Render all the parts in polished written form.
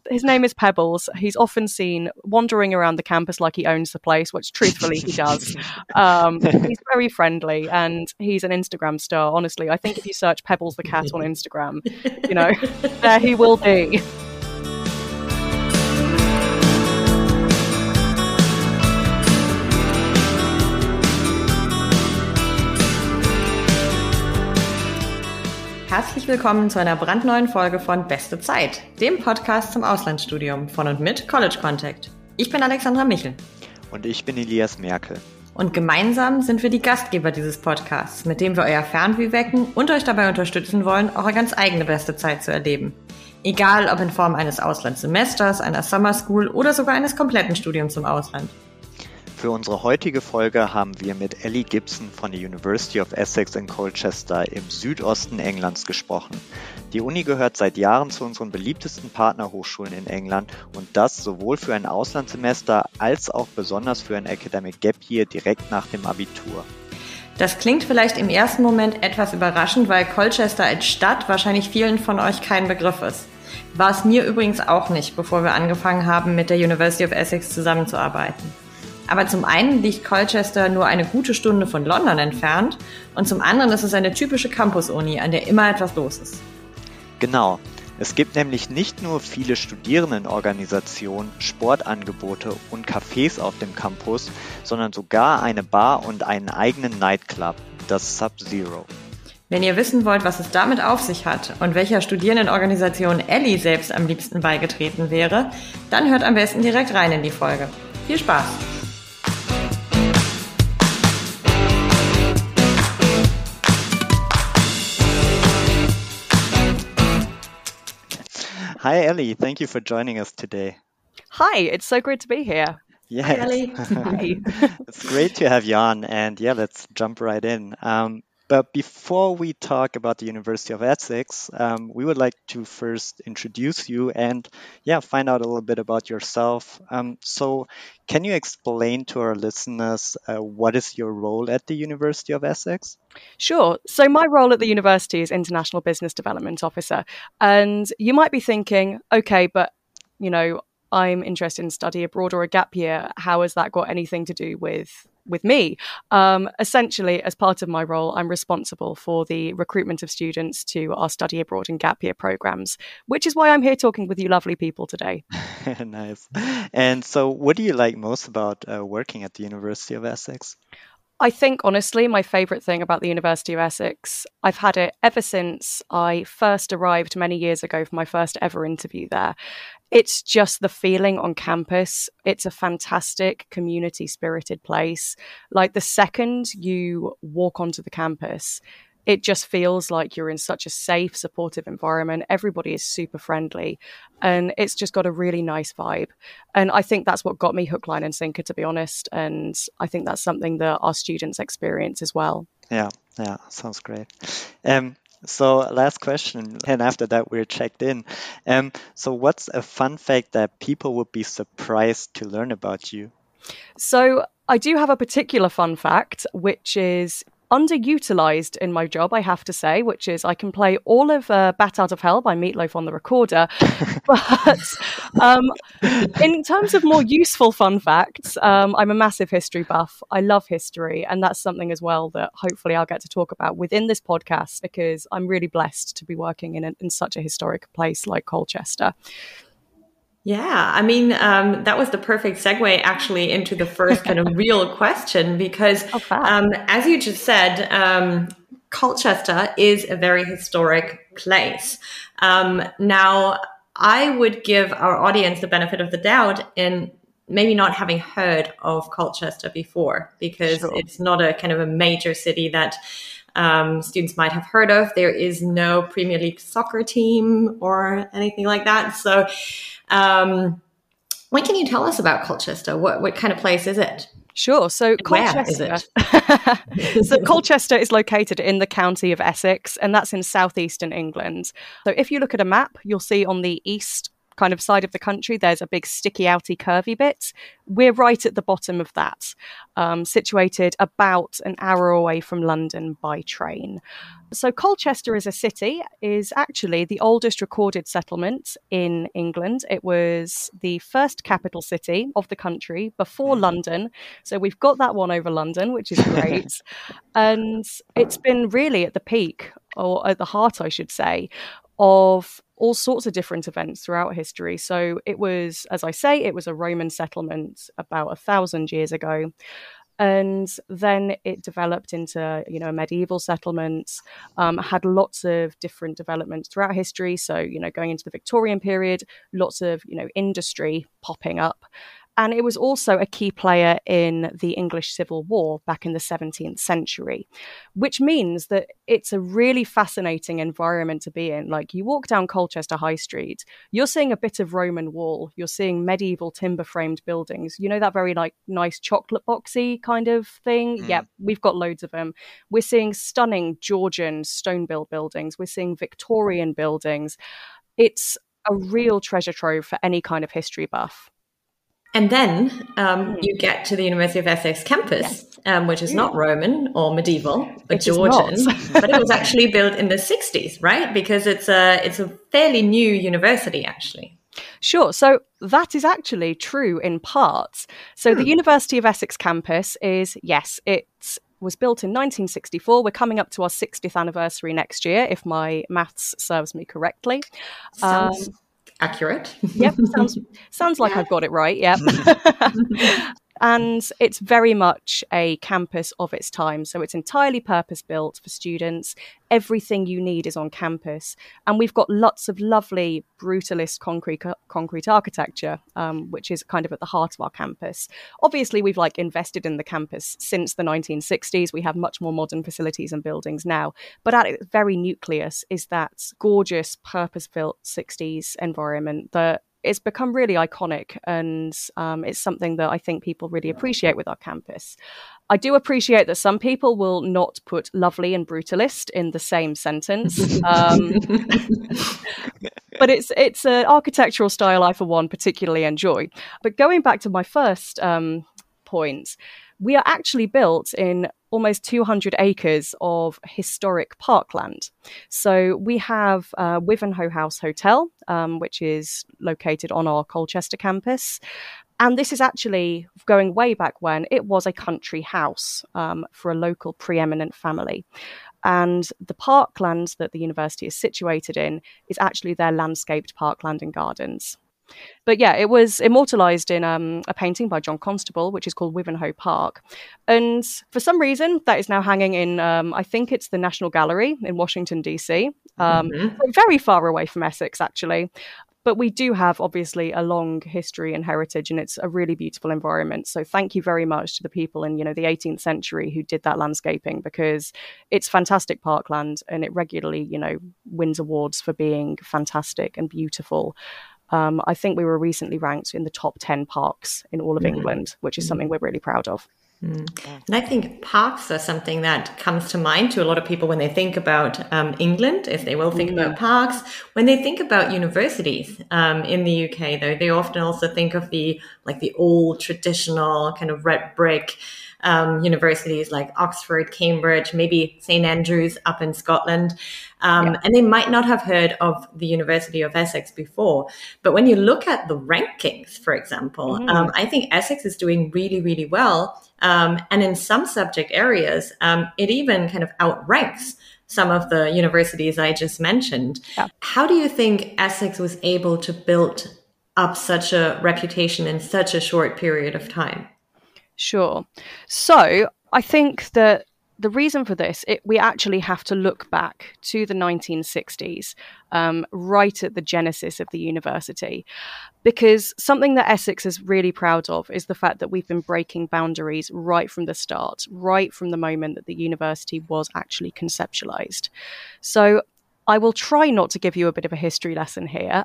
His name is Pebbles. He's often seen wandering around the campus like he owns the place, which truthfully he does. He's very friendly and he's an Instagram star. Honestly, I think if you search Pebbles the cat on Instagram, there he will be. Herzlich willkommen zu einer brandneuen Folge von Beste Zeit, dem Podcast zum Auslandsstudium von und mit College Contact. Ich bin Alexandra Michel. Und ich bin Elias Merkel. Und gemeinsam sind wir die Gastgeber dieses Podcasts, mit dem wir euer Fernweh wecken und euch dabei unterstützen wollen, eure ganz eigene beste Zeit zu erleben. Egal ob in Form eines Auslandssemesters, einer Summer School oder sogar eines kompletten Studiums im Ausland. Für unsere heutige Folge haben wir mit Ellie Gibson von der University of Essex in Colchester im Südosten Englands gesprochen. Die Uni gehört seit Jahren zu unseren beliebtesten Partnerhochschulen in England und das sowohl für ein Auslandssemester als auch besonders für ein Academic Gap Year direkt nach dem Abitur. Das klingt vielleicht im ersten Moment etwas überraschend, weil Colchester als Stadt wahrscheinlich vielen von euch kein Begriff ist. War es mir übrigens auch nicht, bevor wir angefangen haben, mit der University of Essex zusammenzuarbeiten. Aber zum einen liegt Colchester nur eine gute Stunde von London entfernt und zum anderen ist es eine typische Campus-Uni, an der immer etwas los ist. Genau. Es gibt nämlich nicht nur viele Studierendenorganisationen, Sportangebote und Cafés auf dem Campus, sondern sogar eine Bar und einen eigenen Nightclub, das Sub-Zero. Wenn ihr wissen wollt, was es damit auf sich hat und welcher Studierendenorganisation Ellie selbst am liebsten beigetreten wäre, dann hört am besten direkt rein in die Folge. Viel Spaß! Hi Ellie, thank you for joining us today. Hi, it's so great to be here. Yes. Hi Ellie. Hi. It's great to have you on, and let's jump right in. But before we talk about the University of Essex, we would like to first introduce you and find out a little bit about yourself. So can you explain to our listeners what is your role at the University of Essex? Sure. So my role at the university is International Business Development Officer. And you might be thinking, okay, but, I'm interested in study abroad or a gap year. How has that got anything to do with me? Essentially, as part of my role, I'm responsible for the recruitment of students to our study abroad and gap year programs, which is why I'm here talking with you lovely people today. Nice. And so what do you like most about working at the University of Essex? I think, honestly, my favourite thing about the University of Essex, I've had it ever since I first arrived many years ago for my first ever interview there. It's just the feeling on campus. It's a fantastic community-spirited place. Like the second you walk onto the campus, it just feels like you're in such a safe, supportive environment. Everybody is super friendly and it's just got a really nice vibe. And I think that's what got me hook, line and sinker, to be honest. And I think that's something that our students experience as well. Yeah, sounds great. So last question, and after that we're checked in. So what's a fun fact that people would be surprised to learn about you? So I do have a particular fun fact, which is underutilized in my job, I have to say, which is I can play all of Bat Out of Hell by Meatloaf on the recorder. But in terms of more useful fun facts, I'm a massive history buff. I love history. And that's something as well that hopefully I'll get to talk about within this podcast because I'm really blessed to be working in such a historic place like Colchester. Yeah, I mean, that was the perfect segue actually into the first kind of real question because as you just said, Colchester is a very historic place. Now, I would give our audience the benefit of the doubt in maybe not having heard of Colchester before because It's not a kind of a major city that students might have heard of. There is no Premier League soccer team or anything like that. So what can you tell us about Colchester? What kind of place is it? Sure. So Colchester, Colchester is located in the county of Essex, and that's in southeastern England. So if you look at a map, you'll see on the east kind of side of the country, there's a big sticky outy curvy bit. We're right at the bottom of that, situated about an hour away from London by train. So Colchester as a city is actually the oldest recorded settlement in England. It was the first capital city of the country before London. So we've got that one over London, which is great. And it's been really at the peak, or at the heart, I should say, of all sorts of different events throughout history. So it was, as I say, it was a Roman settlement about 1,000 years ago. And then it developed into, a medieval settlement, had lots of different developments throughout history. So, going into the Victorian period, lots of, industry popping up. And it was also a key player in the English Civil War back in the 17th century, which means that it's a really fascinating environment to be in. Like, you walk down Colchester High Street, you're seeing a bit of Roman wall, you're seing medieval timber-framed buildings. That very nice chocolate boxy kind of thing? Yeah, we've got loads of them. We're seeing stunning Georgian stone-built buildings. We're seeing Victorian buildings. It's a real treasure trove for any kind of history buff. And then you get to the University of Essex campus, which is not Roman or medieval, but Georgian. But it was actually built in the 60s, right? Because it's a fairly new university, actually. Sure. So that is actually true in parts. So the University of Essex campus is, yes, it was built in 1964. We're coming up to our 60th anniversary next year, if my maths serves me correctly. Sounds accurate. Yep, sounds like I've got it right. Yep. And it's very much a campus of its time. So it's entirely purpose-built for students. Everything you need is on campus. And we've got lots of lovely brutalist concrete architecture, which is kind of at the heart of our campus. Obviously, we've invested in the campus since the 1960s. We have much more modern facilities and buildings now. But at its very nucleus is that gorgeous purpose-built 60s environment that it's become really iconic, and it's something that I think people really appreciate with our campus. I do appreciate that some people will not put lovely and brutalist in the same sentence. But it's an architectural style I, for one, particularly enjoy. But going back to my first point, we are actually built in almost 200 acres of historic parkland. So we have Wivenhoe House Hotel, which is located on our Colchester campus. And this is actually going way back when it was a country house for a local preeminent family. And the parkland that the university is situated in is actually their landscaped parkland and gardens. But yeah, it was immortalised in a painting by John Constable, which is called Wivenhoe Park. And for some reason, that is now hanging in, I think it's the National Gallery in Washington, D.C. Very far away from Essex, actually. But we do have, obviously, a long history and heritage, and it's a really beautiful environment. So thank you very much to the people in, the 18th century who did that landscaping, because it's fantastic parkland and it regularly, wins awards for being fantastic and beautiful. I think we were recently ranked in the top 10 parks in all of England, which is something we're really proud of. And I think parks are something that comes to mind to a lot of people when they think about England, if they will think about parks. When they think about universities in the UK, though, they often also think of the old traditional kind of red brick universities like Oxford, Cambridge, maybe St. Andrews up in Scotland. And they might not have heard of the University of Essex before. But when you look at the rankings, for example, I think Essex is doing really, really well. And in some subject areas, it even kind of outranks some of the universities I just mentioned. Yeah. How do you think Essex was able to build up such a reputation in such a short period of time? Sure. So I think that the reason for this, we actually have to look back to the 1960s, right at the genesis of the university, because something that Essex is really proud of is the fact that we've been breaking boundaries right from the start, right from the moment that the university was actually conceptualized. So I will try not to give you a bit of a history lesson here.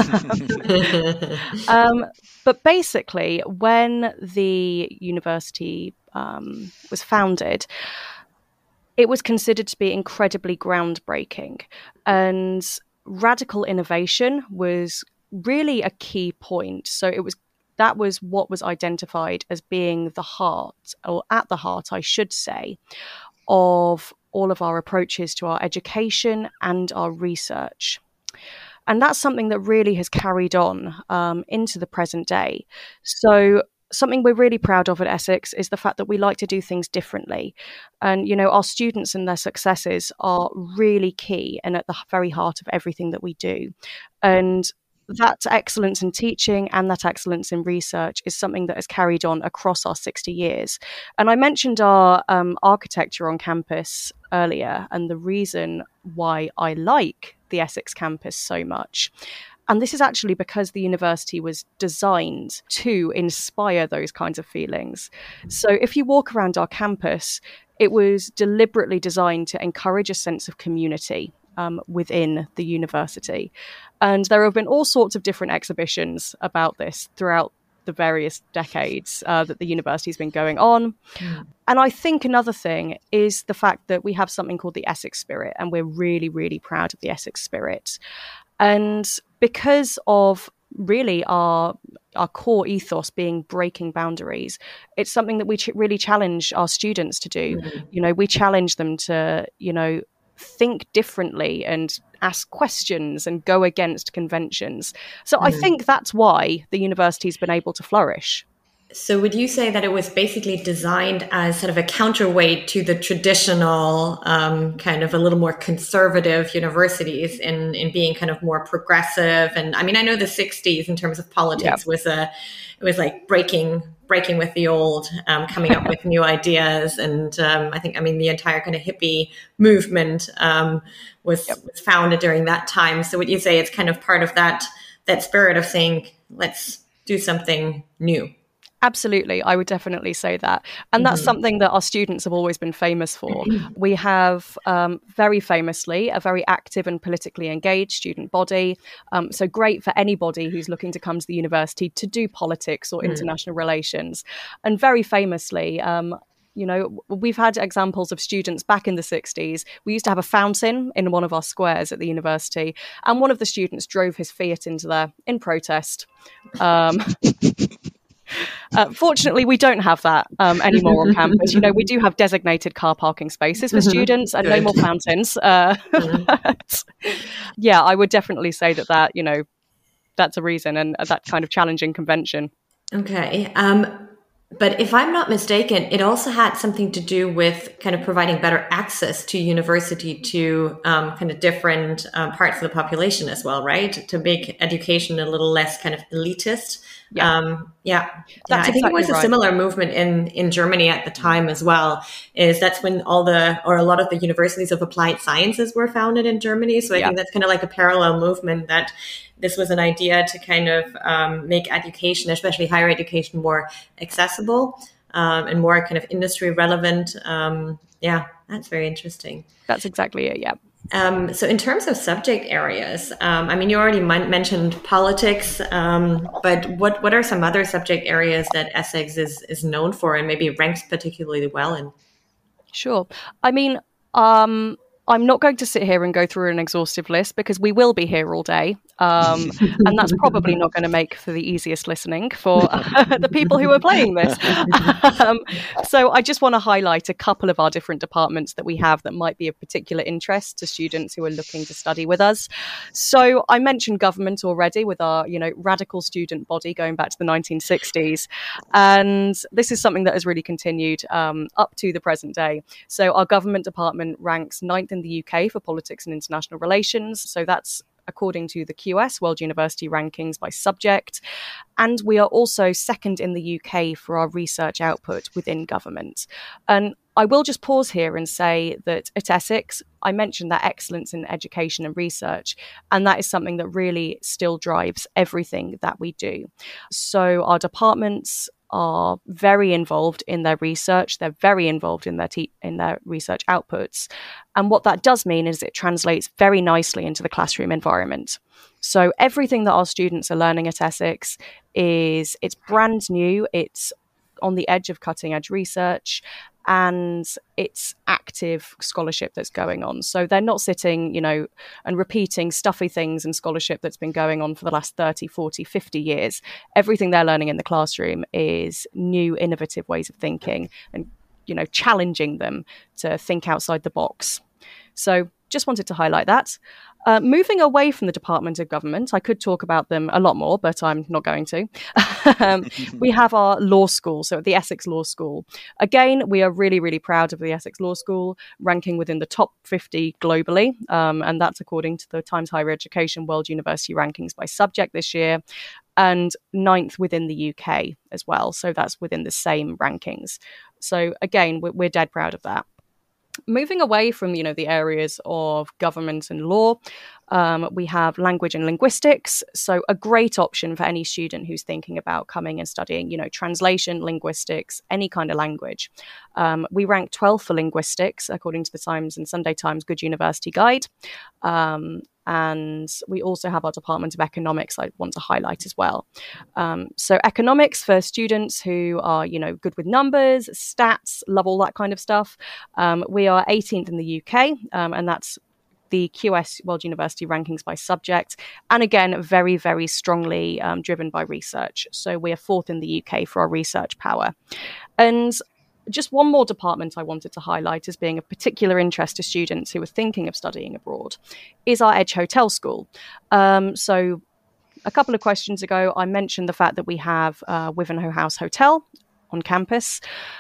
But basically, when the university was founded, it was considered to be incredibly groundbreaking, and radical innovation was really a key point. So that was what was identified as being the heart, or at the heart, I should say, of all of our approaches to our education and our research. And that's something that really has carried on into the present day. So something we're really proud of at Essex is the fact that we like to do things differently. And, our students and their successes are really key and at the very heart of everything that we do. And that excellence in teaching and that excellence in research is something that has carried on across our 60 years. And I mentioned our architecture on campus earlier and the reason why I like the Essex campus so much. And this is actually because the university was designed to inspire those kinds of feelings. So if you walk around our campus, it was deliberately designed to encourage a sense of community within the university. And there have been all sorts of different exhibitions about this throughout the various decades that the university has been going on. And I think another thing is the fact that we have something called the Essex Spirit, and we're really, really proud of the Essex Spirit. And because of really our core ethos being breaking boundaries, it's something that we really challenge our students to do. We challenge them to, think differently and ask questions and go against conventions. So I think that's why the university's been able to flourish. So would you say that it was basically designed as sort of a counterweight to the traditional kind of a little more conservative universities in being kind of more progressive? And I mean, I know the 60s in terms of politics was like breaking with the old, coming up with new ideas. And the entire kind of hippie movement was founded during that time. So would you say it's kind of part of that spirit of saying, let's do something new? Absolutely. I would definitely say that. And that's something that our students have always been famous for. We have very famously a very active and politically engaged student body. So great for anybody who's looking to come to the university to do politics or international relations. And very famously, we've had examples of students back in the 60s. We used to have a fountain in one of our squares at the university, and one of the students drove his Fiat into there in protest. Fortunately, we don't have that anymore on campus. We do have designated car parking spaces for students and no more fountains. Yeah, I would definitely say that that's a reason, and that kind of challenging convention. Okay. But if I'm not mistaken, it also had something to do with kind of providing better access to university to kind of different parts of the population as well, right? To make education a little less kind of elitist. I think it was a similar movement in Germany at the time as well. That's when a lot of the universities of applied sciences were founded in Germany. So I think that's kind of like a parallel movement, that this was an idea to kind of make education, especially higher education, more accessible and more kind of industry relevant. That's very interesting. That's exactly it. Yeah. So in terms of subject areas, you already mentioned politics, but what are some other subject areas that Essex is known for and maybe ranks particularly well in? Sure. I'm not going to sit here and go through an exhaustive list because we will be here all day. And that's probably not going to make for the easiest listening for the people who are playing this. So I just want to highlight a couple of our different departments that we have that might be of particular interest to students who are looking to study with us. So I mentioned government already with our, radical student body going back to the 1960s. And this is something that has really continued up to the present day. So our government department ranks 9th in the UK for politics and international relations. So that's according to the QS, World University Rankings by subject. And we are also 2nd in the UK for our research output within government. And I will just pause here and say that at Essex, I mentioned that excellence in education and research, and that is something that really still drives everything that we do. So our departments are very involved in their research. They're very involved in their research outputs. And what that does mean is it translates very nicely into the classroom environment. So everything that our students are learning at Essex it's brand new. It's on the edge of cutting edge research. and it's active scholarship that's going on. So they're not sitting, and repeating stuffy things in scholarship that's been going on for the last 30, 40, 50 years. Everything they're learning in the classroom is new, innovative ways of thinking and, challenging them to think outside the box. So just wanted to highlight that. Moving away from the Department of Government, I could talk about them a lot more, but I'm not going to. We have our law school, so the Essex Law School. Again, we are really, really proud of the Essex Law School, ranking within the top 50 globally, and that's according to the Times Higher Education World University Rankings by subject this year, and 9th within the UK as well. So that's within the same rankings. So again, we're dead proud of that. Moving away from, the areas of government and law, we have language and linguistics. So a great option for any student who's thinking about coming and studying, translation, linguistics, any kind of language. We rank 12th for linguistics, according to the Times and Sunday Times Good University Guide. And we also have our Department of Economics I want to highlight as well. So economics for students who are, good with numbers, stats, love all that kind of stuff. We are 18th in the UK, and that's the QS World University Rankings by subject. And again, very, very strongly driven by research. So we are 4th in the UK for our research power. And just one more department I wanted to highlight as being of particular interest to students who are thinking of studying abroad is our Edge Hotel School. So a couple of questions ago, I mentioned the fact that we have Wivenhoe House Hotel on campus.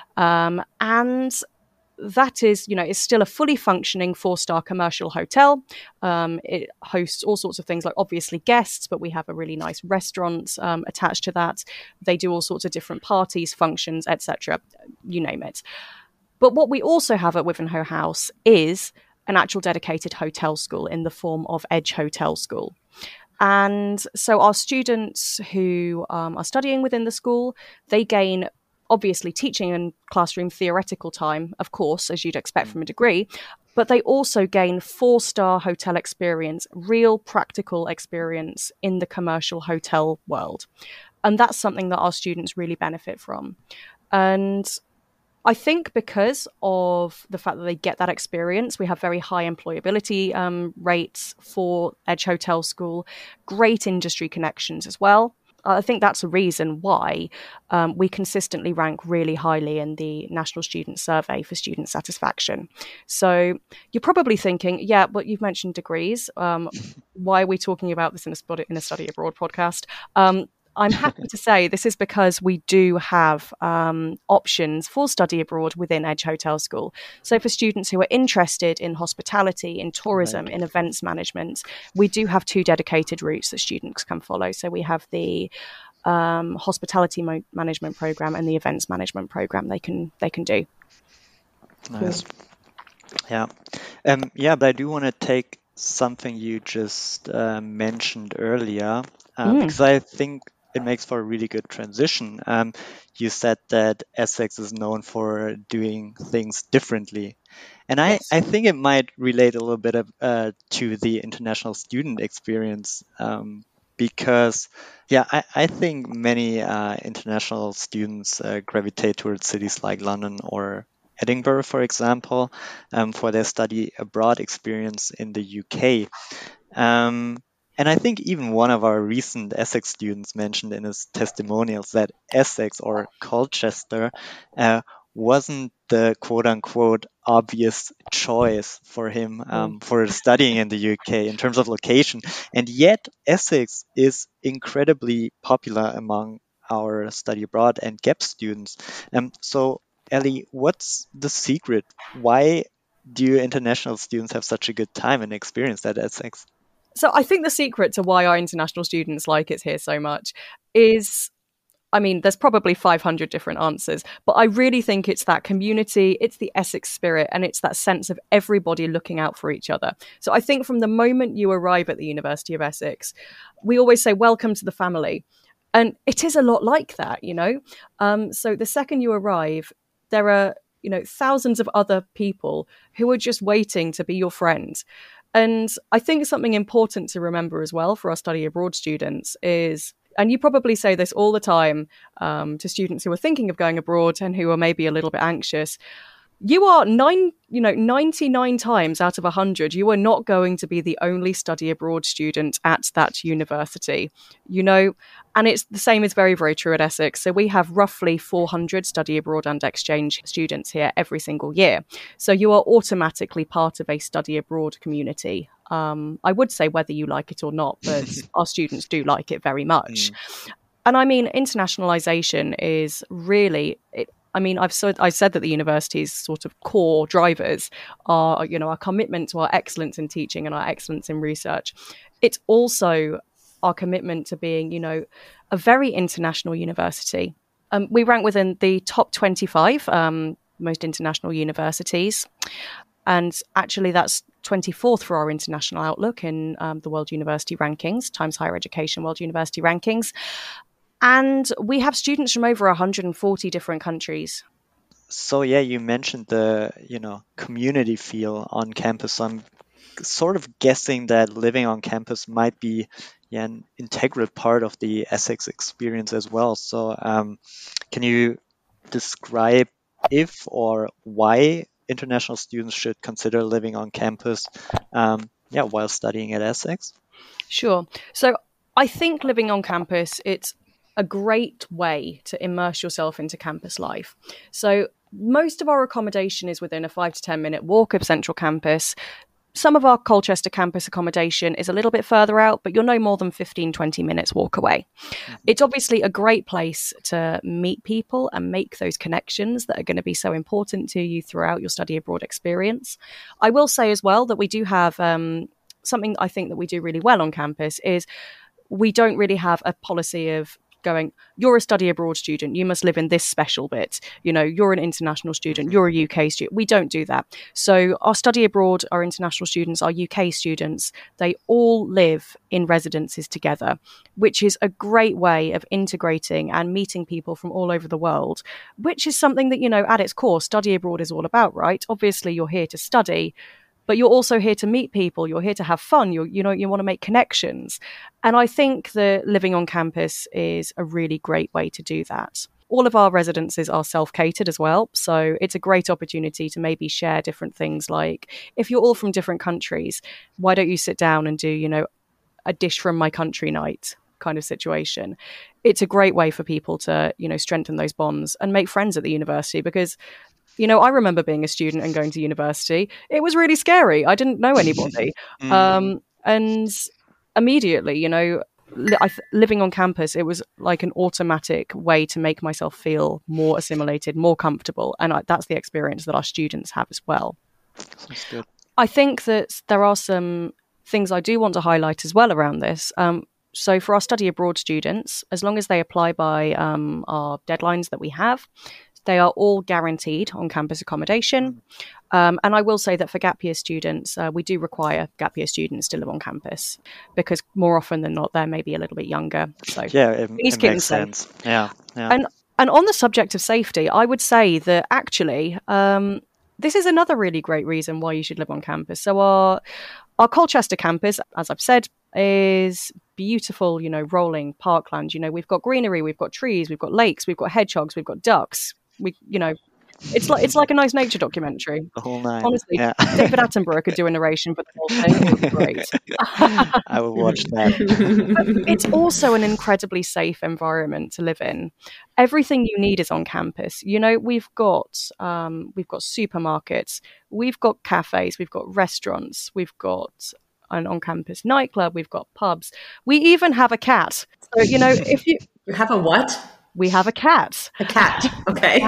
And that is, is still a fully functioning 4-star commercial hotel. It hosts all sorts of things like obviously guests, but we have a really nice restaurant attached to that. They do all sorts of different parties, functions, etc. You name it. But what we also have at Wivenhoe House is an actual dedicated hotel school in the form of Edge Hotel School. And so our students who are studying within the school, they gain obviously teaching and classroom theoretical time, of course, as you'd expect from a degree, but they also gain 4-star hotel experience, real practical experience in the commercial hotel world. And that's something that our students really benefit from. And I think because of the fact that they get that experience, we have very high employability rates for Edge Hotel School, great industry connections as well. I think that's a reason why we consistently rank really highly in the National Student Survey for student satisfaction. So you're probably thinking, yeah, but you've mentioned degrees. Why are we talking about this in a study abroad podcast? I'm happy to say this is because we do have options for study abroad within Edge Hotel School. So for students who are interested in hospitality, in tourism, right, in events management, we do have 2 dedicated routes that students can follow. So we have the hospitality management program and the events management program they can do. Nice. Yeah. But I do want to take something you just mentioned earlier, because I think it makes for a really good transition. You said that Essex is known for doing things differently. And yes, I think it might relate a little bit to the international student experience, because, I think many international students gravitate towards cities like London or Edinburgh, for example, for their study abroad experience in the UK. And I think even one of our recent Essex students mentioned in his testimonials that Essex or Colchester wasn't the quote-unquote obvious choice for him for studying in the UK in terms of location. And yet Essex is incredibly popular among our study abroad and GAP students. So Ellie, what's the secret? Why do international students have such a good time and experience at Essex? So I think the secret to why our international students like it here so much is, there's probably 500 different answers, but I really think it's that community, it's the Essex spirit, and it's that sense of everybody looking out for each other. So I think from the moment you arrive at the University of Essex, we always say, welcome to the family. And it is a lot like that, So the second you arrive, there are, thousands of other people who are just waiting to be your friend. And I think something important to remember as well for our study abroad students is, and you probably say this all the time to students who are thinking of going abroad and who are maybe a little bit anxious, you are 99 times out of 100, you are not going to be the only study abroad student at that university, and it's the same is very, very true at Essex. So we have roughly 400 study abroad and exchange students here every single year. So you are automatically part of a study abroad community. I would say whether you like it or not, but our students do like it very much. And I mean, internationalization is really I've said that the university's sort of core drivers are, our commitment to our excellence in teaching and our excellence in research. It's also our commitment to being, a very international university. We rank within the top 25 most international universities. And actually, that's 24th for our international outlook in the World University Rankings, Times Higher Education World University Rankings. And we have students from over 140 different countries. So yeah, you mentioned the, community feel on campus. So I'm sort of guessing that living on campus might be an integral part of the Essex experience as well. So can you describe if or why international students should consider living on campus while studying at Essex? Sure. So I think living on campus, it's a great way to immerse yourself into campus life. So most of our accommodation is within a 5 to 10 minute walk of central campus. Some of our Colchester campus accommodation is a little bit further out, but you're no more than 15, 20 minutes walk away. It's obviously a great place to meet people and make those connections that are going to be so important to you throughout your study abroad experience. I will say as well that we do have something I think that we do really well on campus is we don't really have a policy of going, you're a study abroad student, you must live in this special bit. You're an international student, you're a UK student. We don't do that. So our study abroad, our international students, our UK students, they all live in residences together, which is a great way of integrating and meeting people from all over the world, which is something that, at its core, study abroad is all about, right? Obviously, you're here to study, but you're also here to meet people. You're here to have fun. You want to make connections. And I think that living on campus is a really great way to do that. All of our residences are self-catered as well. So it's a great opportunity to maybe share different things. Like if you're all from different countries, why don't you sit down and do, a dish from my country night kind of situation? It's a great way for people to, strengthen those bonds and make friends at the university because I remember being a student and going to university. It was really scary. I didn't know anybody. And immediately, living on campus, it was like an automatic way to make myself feel more assimilated, more comfortable. And that's the experience that our students have as well. Sounds good. I think that there are some things I do want to highlight as well around this. So for our study abroad students, as long as they apply by our deadlines that we have, they are all guaranteed on-campus accommodation. And I will say that for gap year students, we do require gap year students to live on campus because more often than not, they're maybe a little bit younger. So yeah, it makes sense. Yeah. And on the subject of safety, I would say that actually, this is another really great reason why you should live on campus. So our Colchester campus, as I've said, is beautiful, rolling parkland. We've got greenery, we've got trees, we've got lakes, we've got hedgehogs, we've got ducks. It's like a nice nature documentary. The whole nine. Honestly, yeah. David Attenborough could do a narration for the whole thing. It would be great. I will watch that. It's also an incredibly safe environment to live in. Everything you need is on campus. We've got supermarkets, we've got cafes, we've got restaurants, we've got an on-campus nightclub, we've got pubs. We even have a cat. So, if you have a what? We have a cat. A cat. Okay.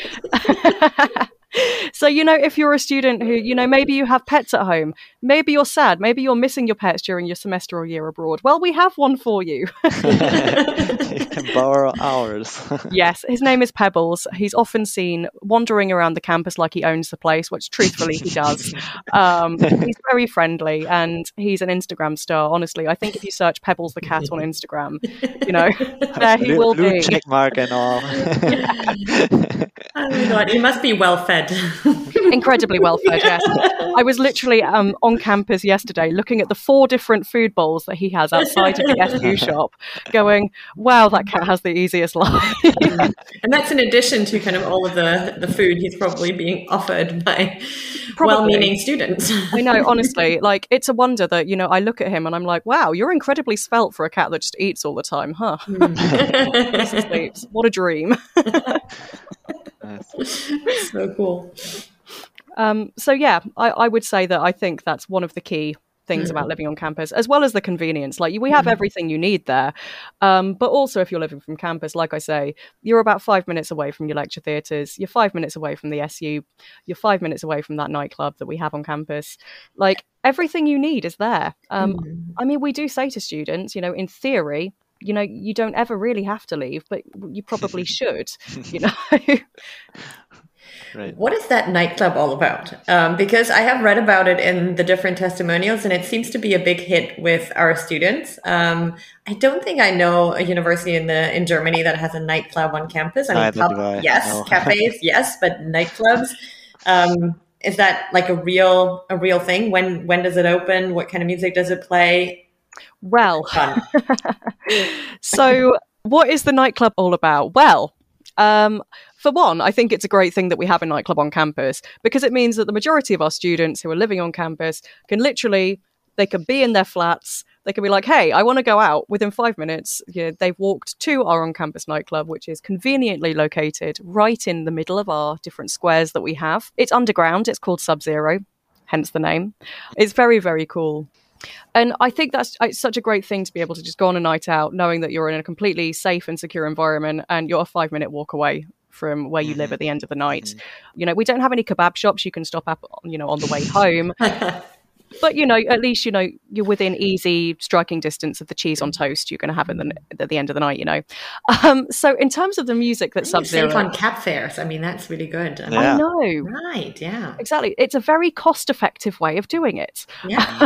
So, if you're a student who, maybe you have pets at home, maybe you're sad, maybe you're missing your pets during your semester or year abroad. Well, we have one for you. You can borrow ours. Yes, his name is Pebbles. He's often seen wandering around the campus like he owns the place, which truthfully he does. He's very friendly and he's an Instagram star. Honestly, I think if you search Pebbles the cat on Instagram, there he will blue be. Check mark and all. Oh my God, he must be well fed. Incredibly well fed, yes. I was literally on campus yesterday looking at the 4 different food bowls that he has outside of the SU shop, going, wow, that cat has the easiest life. And that's in addition to kind of all of the food he's probably being offered by well-meaning students. I know, honestly, like, it's a wonder that, you know, I look at him and I'm like, wow, you're incredibly svelte for a cat that just eats all the time, huh? Sleeps. What a dream. So cool. So yeah, I would say that I think that's one of the key things about living on campus, as well as the convenience. Like, we have everything you need there. But also, if you're living from campus, like I say, you're about 5 minutes away from your lecture theatres. You're 5 minutes away from the SU. You're 5 minutes away from that nightclub that we have on campus. Like, everything you need is there. I mean, we do say to students, you know, in theory, you know, you don't ever really have to leave, but you probably should, you know. Right. What is that nightclub all about? Because I have read about it in the different testimonials, and it seems to be a big hit with our students. I don't think I know a university in Germany that has a nightclub on campus. I mean, yes, no. Cafes, yes, but nightclubs. Is that like a real thing? When does it open? What kind of music does it play? Well, so what is the nightclub all about? Well, for one, I think it's a great thing that we have a nightclub on campus, because it means that the majority of our students who are living on campus can literally, they can be in their flats, they can be like, hey, I want to go out. Within 5 minutes, you know, they've walked to our on-campus nightclub, which is conveniently located right in the middle of our different squares that we have. It's underground. It's called Sub-Zero, hence the name. It's very, very cool. And I think it's such a great thing to be able to just go on a night out, knowing that you're in a completely safe and secure environment and you're a 5-minute walk away from where you live at the end of the night. You know, we don't have any kebab shops you can stop at, you know, on the way home. But, you know, at least, you know, you're within easy striking distance of the cheese on toast you're going to have at the end of the night, you know. So in terms of the music that Sub-Zero... Safe on cab fares. I mean, that's really good. I know. Right, yeah. Exactly. It's a very cost-effective way of doing it. Yeah.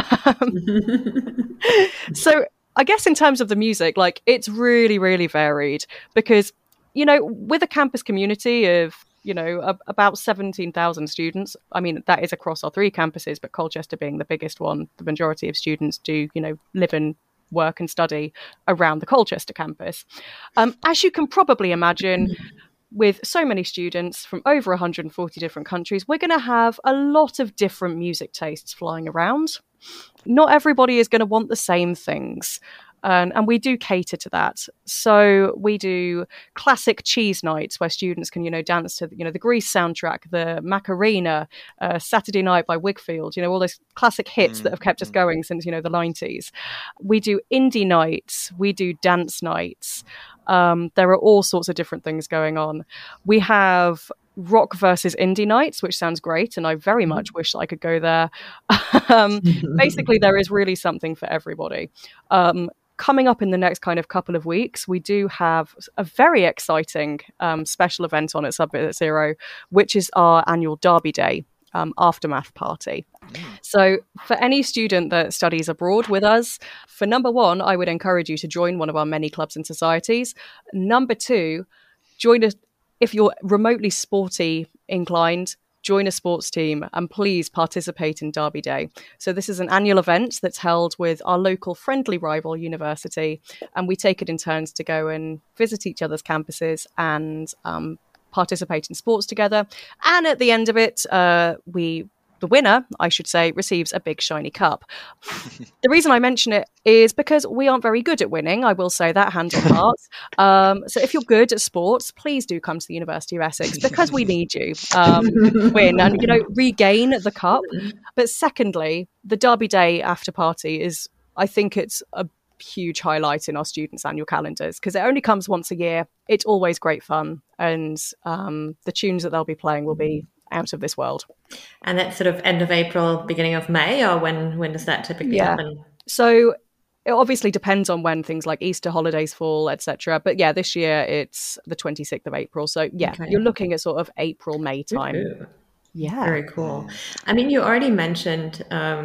So I guess in terms of the music, like, it's really, really varied because, you know, with a campus community of, you know, about 17,000 students. I mean, that is across our 3 campuses, but Colchester being the biggest one, the majority of students do, you know, live and work and study around the Colchester campus. As you can probably imagine, with so many students from over 140 different countries, we're going to have a lot of different music tastes flying around. Not everybody is going to want the same things. And we do cater to that. So we do classic cheese nights where students can, you know, dance to, you know, the Grease soundtrack, the Macarena, Saturday Night by Whigfield, you know, all those classic hits that have kept us going since, you know, the 90s. We do indie nights. We do dance nights. There are all sorts of different things going on. We have rock versus indie nights, which sounds great, and I very much wish I could go there. Basically, there is really something for everybody. Coming up in the next kind of couple of weeks, we do have a very exciting special event on at Sub-Zero, which is our annual Derby Day aftermath party. So for any student that studies abroad with us, for number 1, I would encourage you to join one of our many clubs and societies. Number 2, join us if you're remotely sporty inclined. Join a sports team and please participate in Derby Day. So this is an annual event that's held with our local friendly rival university, and we take it in turns to go and visit each other's campuses and participate in sports together. And at the end of it, the winner, I should say, receives a big shiny cup. The reason I mention it is because we aren't very good at winning. I will say that, hand on heart. So if you're good at sports, please do come to the University of Essex because we need you to win and, you know, regain the cup. But secondly, the Derby Day after party is, I think it's a huge highlight in our students' annual calendars because it only comes once a year. It's always great fun. And the tunes that they'll be playing will be out of this world. And that's sort of end of April, beginning of May, or when does that typically happen? So it obviously depends on when things like Easter holidays fall, etc. But yeah, this year it's the 26th of April. So yeah, You're looking at sort of April, May time. Ooh. Yeah. Very cool. I mean, you already mentioned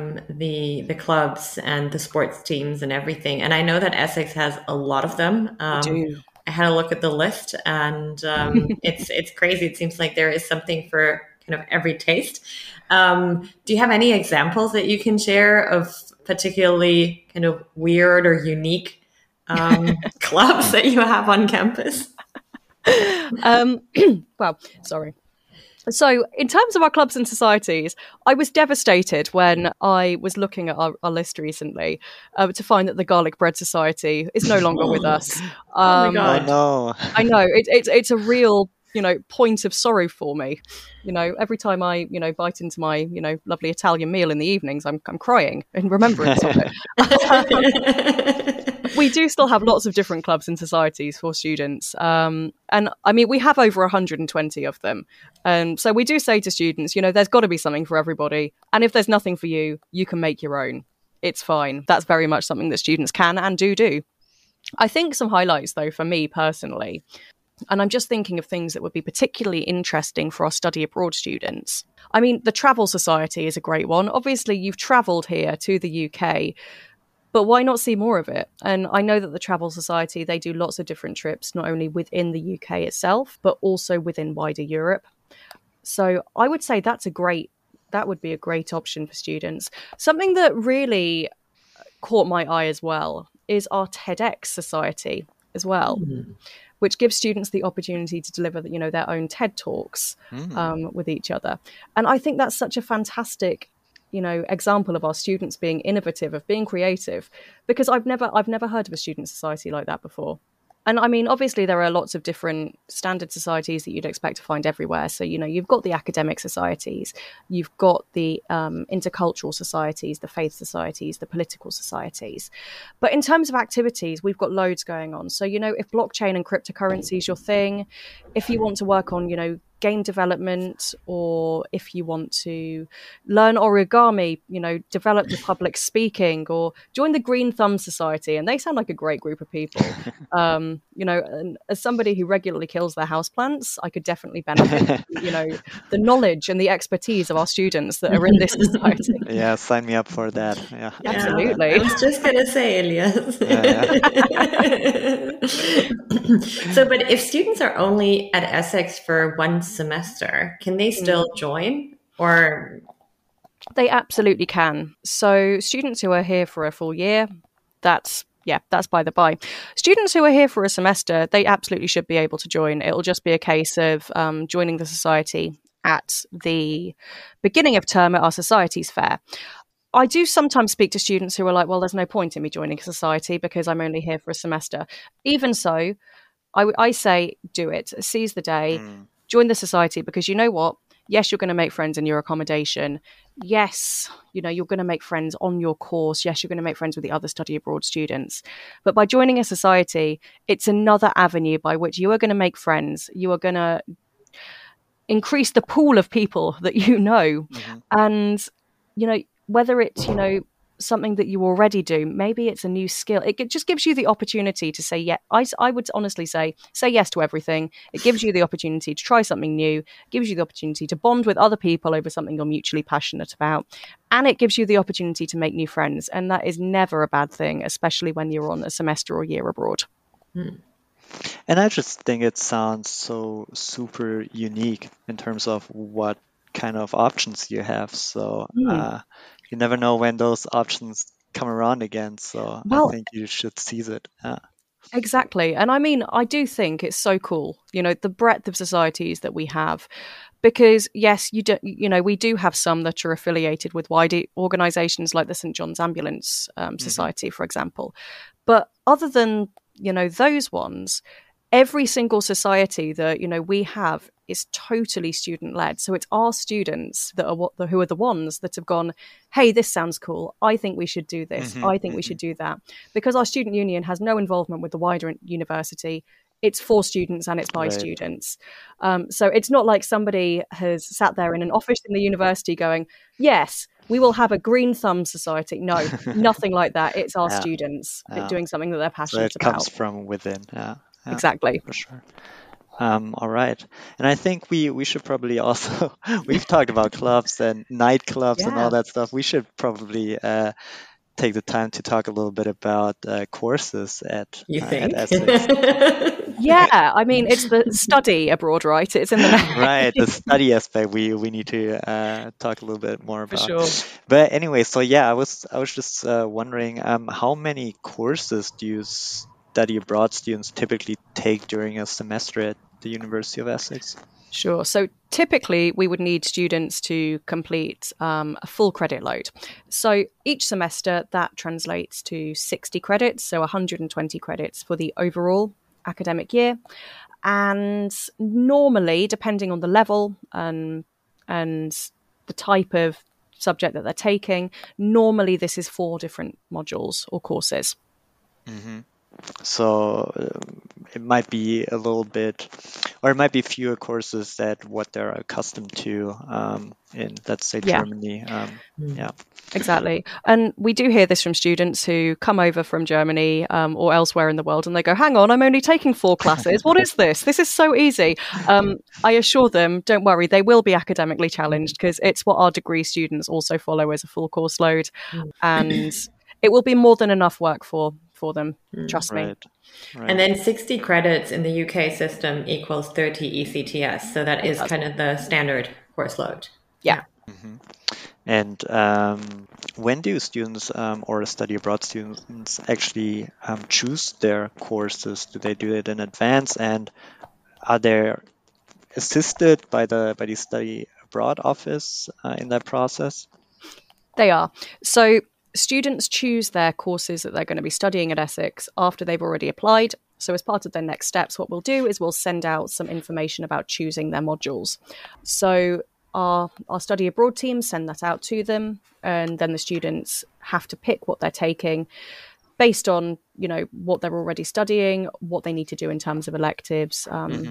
the clubs and the sports teams and everything. And I know that Essex has a lot of them. I do. I had a look at the list and it's crazy. It seems like there is something for kind of every taste. Do you have any examples that you can share of particularly kind of weird or unique clubs that you have on campus? Well, sorry. So, in terms of our clubs and societies, I was devastated when I was looking at our list recently to find that the Garlic Bread Society is no longer with us. Oh my God. Oh no. I know it's a real point of sorrow for me. Every time I bite into my lovely Italian meal in the evenings, I'm crying in remembrance of it. We do still have lots of different clubs and societies for students. And I mean, we have over 120 of them. So we do say to students, there's got to be something for everybody. And if there's nothing for you, you can make your own. It's fine. That's very much something that students can and do. I think some highlights, though, for me personally, and I'm just thinking of things that would be particularly interesting for our study abroad students. I mean, the Travel Society is a great one. Obviously, you've travelled here to the UK, but why not see more of it? And I know that the Travel Society, they do lots of different trips, not only within the UK itself, but also within wider Europe. So I would say that would be a great option for students. Something that really caught my eye as well is our TEDx Society as well, which gives students the opportunity to deliver their own TED Talks with each other. And I think that's such a fantastic example of our students being innovative, of being creative, because I've never heard of a student society like that before. And I mean, obviously there are lots of different standard societies that you'd expect to find everywhere. So, you've got the academic societies, you've got the intercultural societies, the faith societies, the political societies. But in terms of activities, we've got loads going on. So, if blockchain and cryptocurrency is your thing, if you want to work on, game development, or if you want to learn origami, develop your public speaking, or join the Green Thumb Society. And they sound like a great group of people. And as somebody who regularly kills their houseplants, I could definitely benefit from, the knowledge and the expertise of our students that are in this society. Yeah, sign me up for that. Yeah, absolutely. I was just going to say, Elias. So, but if students are only at Essex for one semester, can they still join, or? They absolutely can. So students who are here for a full year, that's by the by. Students who are here for a semester, they absolutely should be able to join. It'll just be a case of joining the society at the beginning of term at our societies fair. I do sometimes speak to students who are like, well, there's no point in me joining a society because I'm only here for a semester. Even so, I say do it. Seize the day. Join the society, because you know what? Yes, you're going to make friends in your accommodation. Yes, you're going to make friends on your course. Yes, you're going to make friends with the other study abroad students. But by joining a society, it's another avenue by which you are going to make friends. You are going to increase the pool of people that you know. And, whether it's, something that you already do, maybe it's a new skill. It just gives you the opportunity to say, yeah, I would honestly say yes to everything. It gives you the opportunity to try something new. It gives you the opportunity to bond with other people over something you're mutually passionate about. And it gives you the opportunity to make new friends. And that is never a bad thing, especially when you're on a semester or year abroad. And I just think it sounds so super unique in terms of what kind of options you have. So you never know when those options come around again. So I think you should seize it. Exactly. And I mean, I do think it's so cool, the breadth of societies that we have, because yes, we do have some that are affiliated with wider organizations like the St. John's Ambulance Society, for example. But other than, those ones, every single society that, we have is totally student-led. So it's our students that are who are the ones that have gone, hey, this sounds cool. I think we should do this. I think we should do that. Because our student union has no involvement with the wider university. It's for students and it's by students. So it's not like somebody has sat there in an office in the university going, yes, we will have a Green Thumb Society. No, nothing like that. It's our students doing something that they're passionate about. So it comes from within. Yeah, exactly. For sure. All right. And I think we should probably also, we've talked about clubs and nightclubs and all that stuff. We should probably take the time to talk a little bit about courses at Essex. Yeah, I mean, it's the study abroad, right? It's in the name. Right, the study aspect we need to talk a little bit more about. For sure. But anyway, so yeah, I was just wondering, how many courses do you study abroad students typically take during a semester at the University of Essex? Sure. So typically, we would need students to complete a full credit load. So each semester, that translates to 60 credits, so 120 credits for the overall academic year. And normally, depending on the level and the type of subject that they're taking, normally this is 4 different modules or courses. Mm-hmm. So it might be a little bit, or it might be fewer courses that what they're accustomed to in, let's say, Germany. Yeah, exactly. And we do hear this from students who come over from Germany or elsewhere in the world, and they go, hang on, I'm only taking 4 classes. What is this? This is so easy. I assure them, don't worry, they will be academically challenged because it's what our degree students also follow as a full course load. And it will be more than enough work for them, trust me. Right. And then 60 credits in the UK system equals 30 ECTS. So that is kind of the standard course load. Yeah. Mm-hmm. And when do students or study abroad students actually choose their courses? Do they do it in advance? And are they assisted by the study abroad office in that process? They are. So students choose their courses that they're going to be studying at Essex after they've already applied. So as part of their next steps, what we'll do is we'll send out some information about choosing their modules. So our study abroad team send that out to them, and then the students have to pick what they're taking based on, what they're already studying, what they need to do in terms of electives,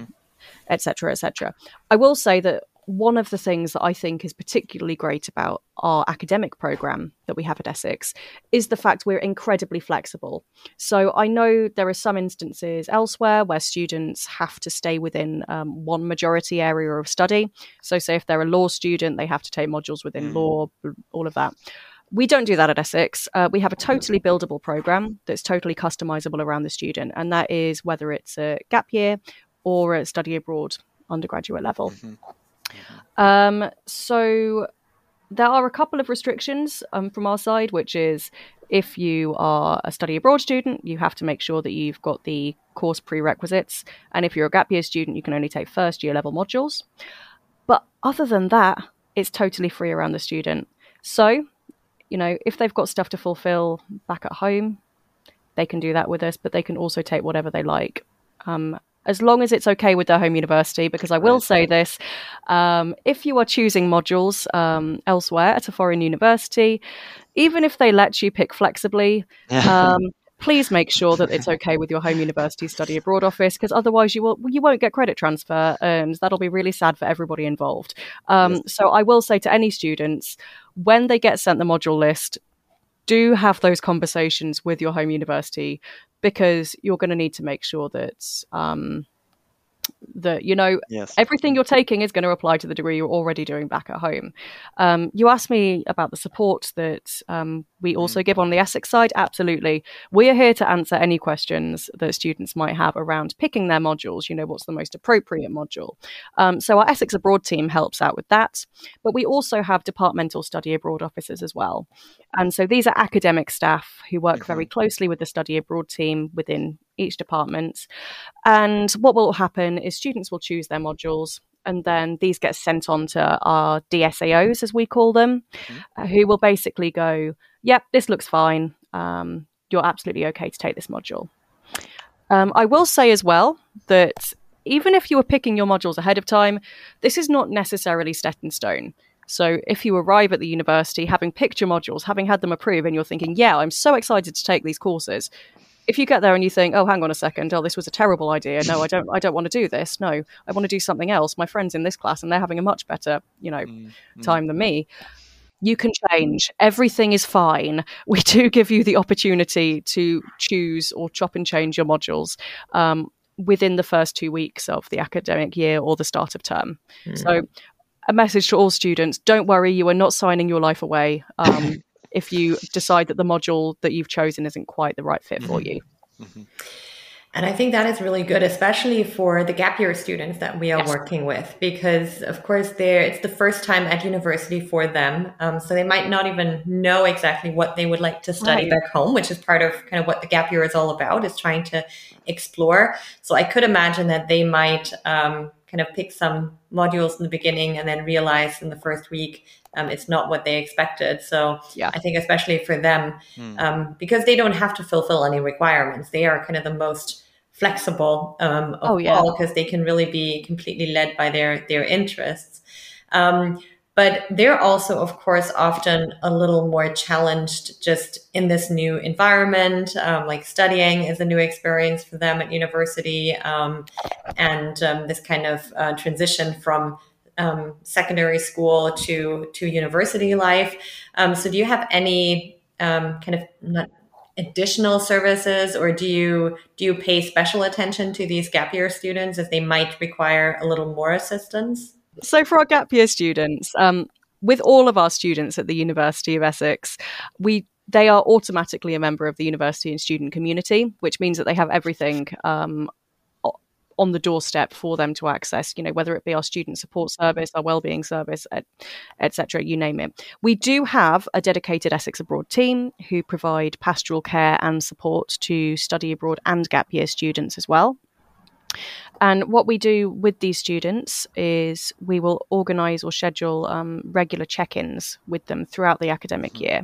et cetera, et cetera. I will say that one of the things that I think is particularly great about our academic program that we have at Essex is the fact we're incredibly flexible. So I know there are some instances elsewhere where students have to stay within one majority area of study. So say if they're a law student, they have to take modules within law, all of that. We don't do that at Essex. We have a totally buildable program that's totally customizable around the student. And that is whether it's a gap year or a study abroad undergraduate level. So there are a couple of restrictions from our side, which is if you are a study abroad student, you have to make sure that you've got the course prerequisites. And if you're a gap year student, you can only take first year level modules. But other than that, it's totally free around the student. So, if they've got stuff to fulfill back at home, they can do that with us, but they can also take whatever they like. As long as it's okay with their home university, because I will say this, if you are choosing modules elsewhere at a foreign university, even if they let you pick flexibly, please make sure that it's okay with your home university study abroad office, because otherwise you won't get credit transfer, and that'll be really sad for everybody involved. So I will say to any students, when they get sent the module list, do have those conversations with your home university, because you're going to need to make sure that everything you're taking is going to apply to the degree you're already doing back at home. You asked me about the support that we also give on the Essex side. Absolutely. We are here to answer any questions that students might have around picking their modules, what's the most appropriate module. So our Essex Abroad team helps out with that. But we also have departmental study abroad officers as well. And so these are academic staff who work very closely with the study abroad team within each department. And what will happen is students will choose their modules, and then these get sent on to our DSAOs, as we call them, who will basically go, yep, this looks fine. You're absolutely okay to take this module. I will say as well that even if you were picking your modules ahead of time, this is not necessarily set in stone. So if you arrive at the university having picked your modules, having had them approved, and you're thinking, yeah, I'm so excited to take these courses. If you get there and you think, oh, hang on a second, this was a terrible idea. No, I don't want to do this. No, I want to do something else. My friend's in this class and they're having a much better, time than me. You can change. Everything is fine. We do give you the opportunity to choose or chop and change your modules within the first 2 weeks of the academic year or the start of term. So a message to all students, don't worry, you are not signing your life away. if you decide that the module that you've chosen isn't quite the right fit for you. And I think that is really good, especially for the gap year students that we are working with, because of course it's the first time at university for them. So they might not even know exactly what they would like to study back home, which is part of kind of what the gap year is all about, is trying to explore. So I could imagine that they might kind of pick some modules in the beginning and then realize in the first week it's not what they expected. So I think especially for them, because they don't have to fulfill any requirements, they are kind of the most flexible of all, because they can really be completely led by their interests. But they're also, of course, often a little more challenged just in this new environment. Like studying is a new experience for them at university, and this kind of transition from secondary school to university life. So do you have any kind of additional services, or do you pay special attention to these gap year students as they might require a little more assistance? So for our gap year students, with all of our students at the University of Essex, they are automatically a member of the university and student community, which means that they have everything on the doorstep for them to access, whether it be our student support service, our wellbeing service, etc., you name it. We do have a dedicated Essex Abroad team who provide pastoral care and support to study abroad and gap year students as well. And what we do with these students is we will organise or schedule regular check-ins with them throughout the academic year.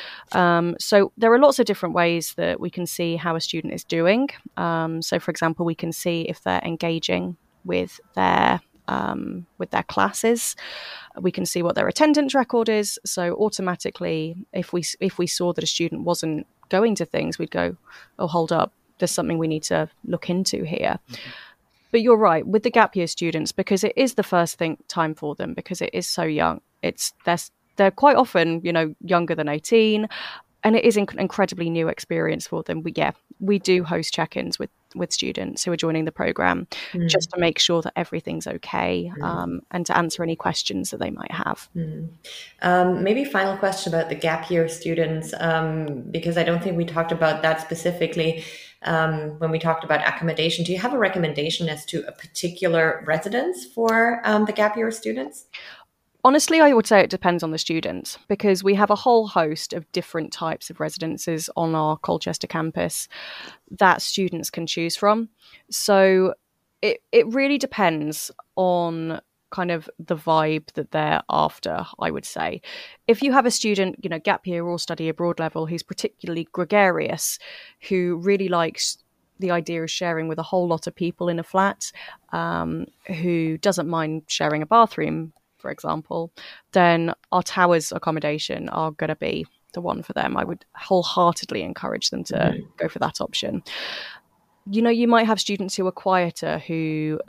So there are lots of different ways that we can see how a student is doing. So, for example, we can see if they're engaging with their classes. We can see what their attendance record is. So automatically, if we saw that a student wasn't going to things, we'd go, oh, hold up, there's something we need to look into here. But you're right, with the gap year students, because it is the first time for them, because it is so young. They're quite often, younger than 18, and it is an incredibly new experience for them. We do host check-ins with students who are joining the program, just to make sure that everything's okay, and to answer any questions that they might have. Maybe final question about the gap year students, because I don't think we talked about that specifically when we talked about accommodation. Do you have a recommendation as to a particular residence for the gap year students? Honestly, I would say it depends on the students, because we have a whole host of different types of residences on our Colchester campus that students can choose from. So it really depends on kind of the vibe that they're after, I would say. If you have a student, gap year or study abroad level, who's particularly gregarious, who really likes the idea of sharing with a whole lot of people in a flat, who doesn't mind sharing a bathroom, for example, then our towers accommodation are going to be the one for them. I would wholeheartedly encourage them to go for that option. You might have students who are quieter, who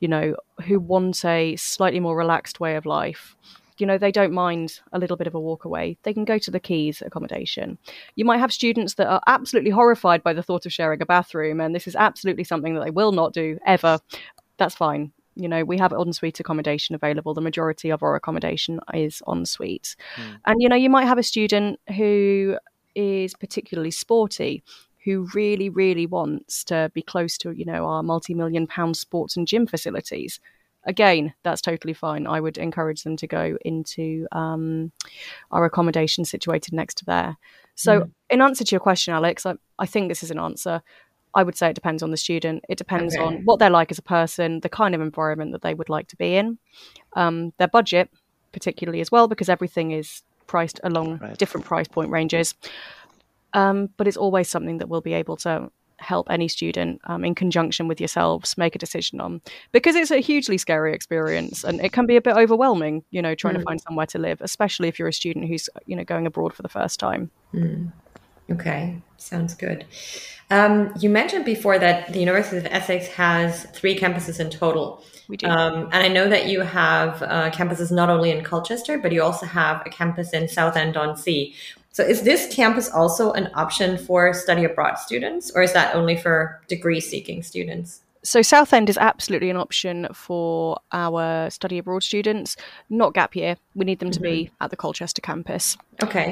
want a slightly more relaxed way of life. They don't mind a little bit of a walk away. They can go to the Keys accommodation. You might have students that are absolutely horrified by the thought of sharing a bathroom, and this is absolutely something that they will not do ever. That's fine. We have en-suite accommodation available. The majority of our accommodation is en-suite. And, you might have a student who is particularly sporty, who really, really wants to be close to, our multi-million-pound sports and gym facilities. Again, that's totally fine. I would encourage them to go into our accommodation situated next to there. So in answer to your question, Alex, I think this is an answer. I would say it depends on the student. It depends on what they're like as a person, the kind of environment that they would like to be in, their budget particularly as well, because everything is priced along different price point ranges. But it's always something that we'll be able to help any student in conjunction with yourselves make a decision on, because it's a hugely scary experience and it can be a bit overwhelming, trying to find somewhere to live, especially if you're a student who's, going abroad for the first time. Okay, sounds good. You mentioned before that the University of Essex has 3 campuses in total. We do. And I know that you have campuses not only in Colchester, but you also have a campus in Southend-on-Sea. So is this campus also an option for study abroad students, or is that only for degree-seeking students? So Southend is absolutely an option for our study abroad students, not gap year. We need them to be at the Colchester campus. Okay.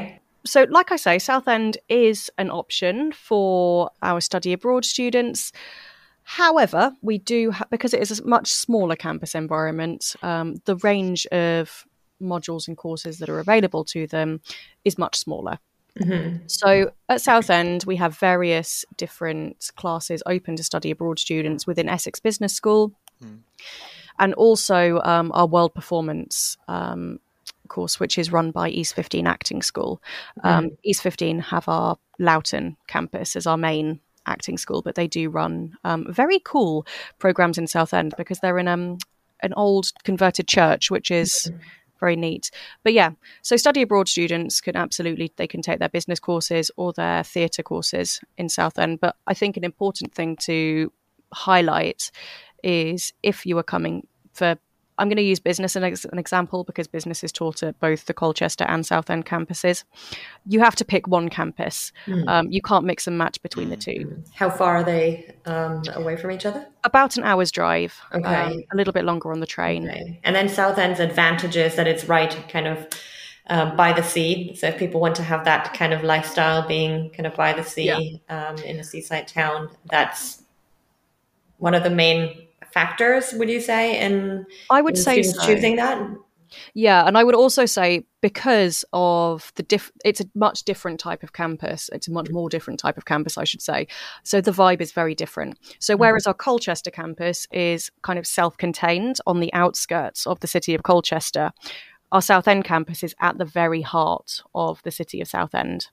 So like I say, Southend is an option for our study abroad students. However, we do, because it is a much smaller campus environment, the range of modules and courses that are available to them is much smaller. Mm-hmm. So at Southend, we have various different classes open to study abroad students within Essex Business School, and also our World Performance course, which is run by East 15 Acting School. East 15 have our Loughton campus as our main acting school, but they do run very cool programs in Southend because they're in an old converted church, which is very neat. But yeah, so study abroad students can they can take their business courses or their theatre courses in Southend. But I think an important thing to highlight is if you are coming for, I'm going to use business as an example because business is taught at both the Colchester and Southend campuses. You have to pick one campus. You can't mix and match between the two. How far are they away from each other? About an hour's drive. Okay. A little bit longer on the train. Okay. And then Southend's advantage is that it's right kind of by the sea. So if people want to have that kind of lifestyle being kind of by the sea in a seaside town, that's one of the main factors, would you say, I would say so. Choosing that? Yeah, and I would also say because of it's a much different type of campus. It's a much more different type of campus, I should say. So the vibe is very different. So whereas our Colchester campus is kind of self-contained on the outskirts of the city of Colchester, our Southend campus is at the very heart of the city of Southend.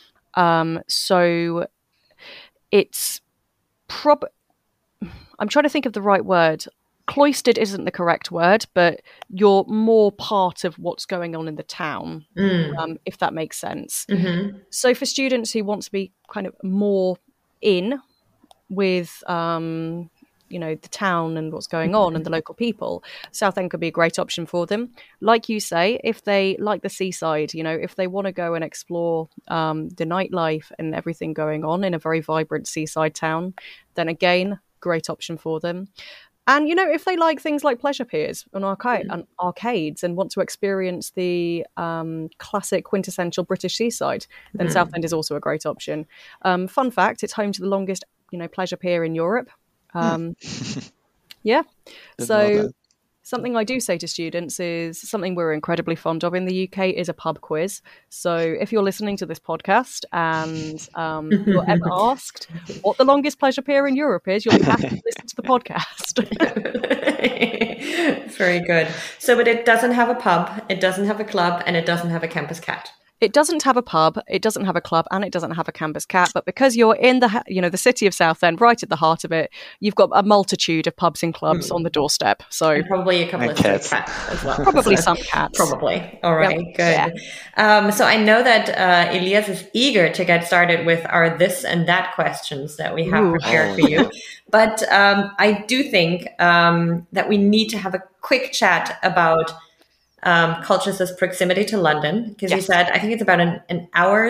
So it's I'm trying to think of the right word. Cloistered isn't the correct word, but you're more part of what's going on in the town, if that makes sense. Mm-hmm. So for students who want to be kind of more in with, the town and what's going on and the local people, Southend could be a great option for them. Like you say, if they like the seaside, if they want to go and explore the nightlife and everything going on in a very vibrant seaside town, then again, great option for them. And, if they like things like pleasure piers and arcades and want to experience the classic quintessential British seaside, then Southend is also a great option. Fun fact, it's home to the longest, pleasure pier in Europe. Yeah. So something I do say to students is something we're incredibly fond of in the UK is a pub quiz. So if you're listening to this podcast and you're ever asked what the longest pleasure pier in Europe is, you'll be happy to listen to the podcast. Very good. So, but it doesn't have a pub, it doesn't have a club, and it doesn't have a campus cat. It doesn't have a pub, it doesn't have a club, and it doesn't have a campus cat. But because you're in the city of Southend, right at the heart of it, you've got a multitude of pubs and clubs on the doorstep. So and probably a couple of cats as well. Probably some cats. Probably. All right, good. Yeah. So I know that Elias is eager to get started with our this and that questions that we have prepared for you. But I do think that we need to have a quick chat about Colchester's proximity to London, because you said, I think it's about an hour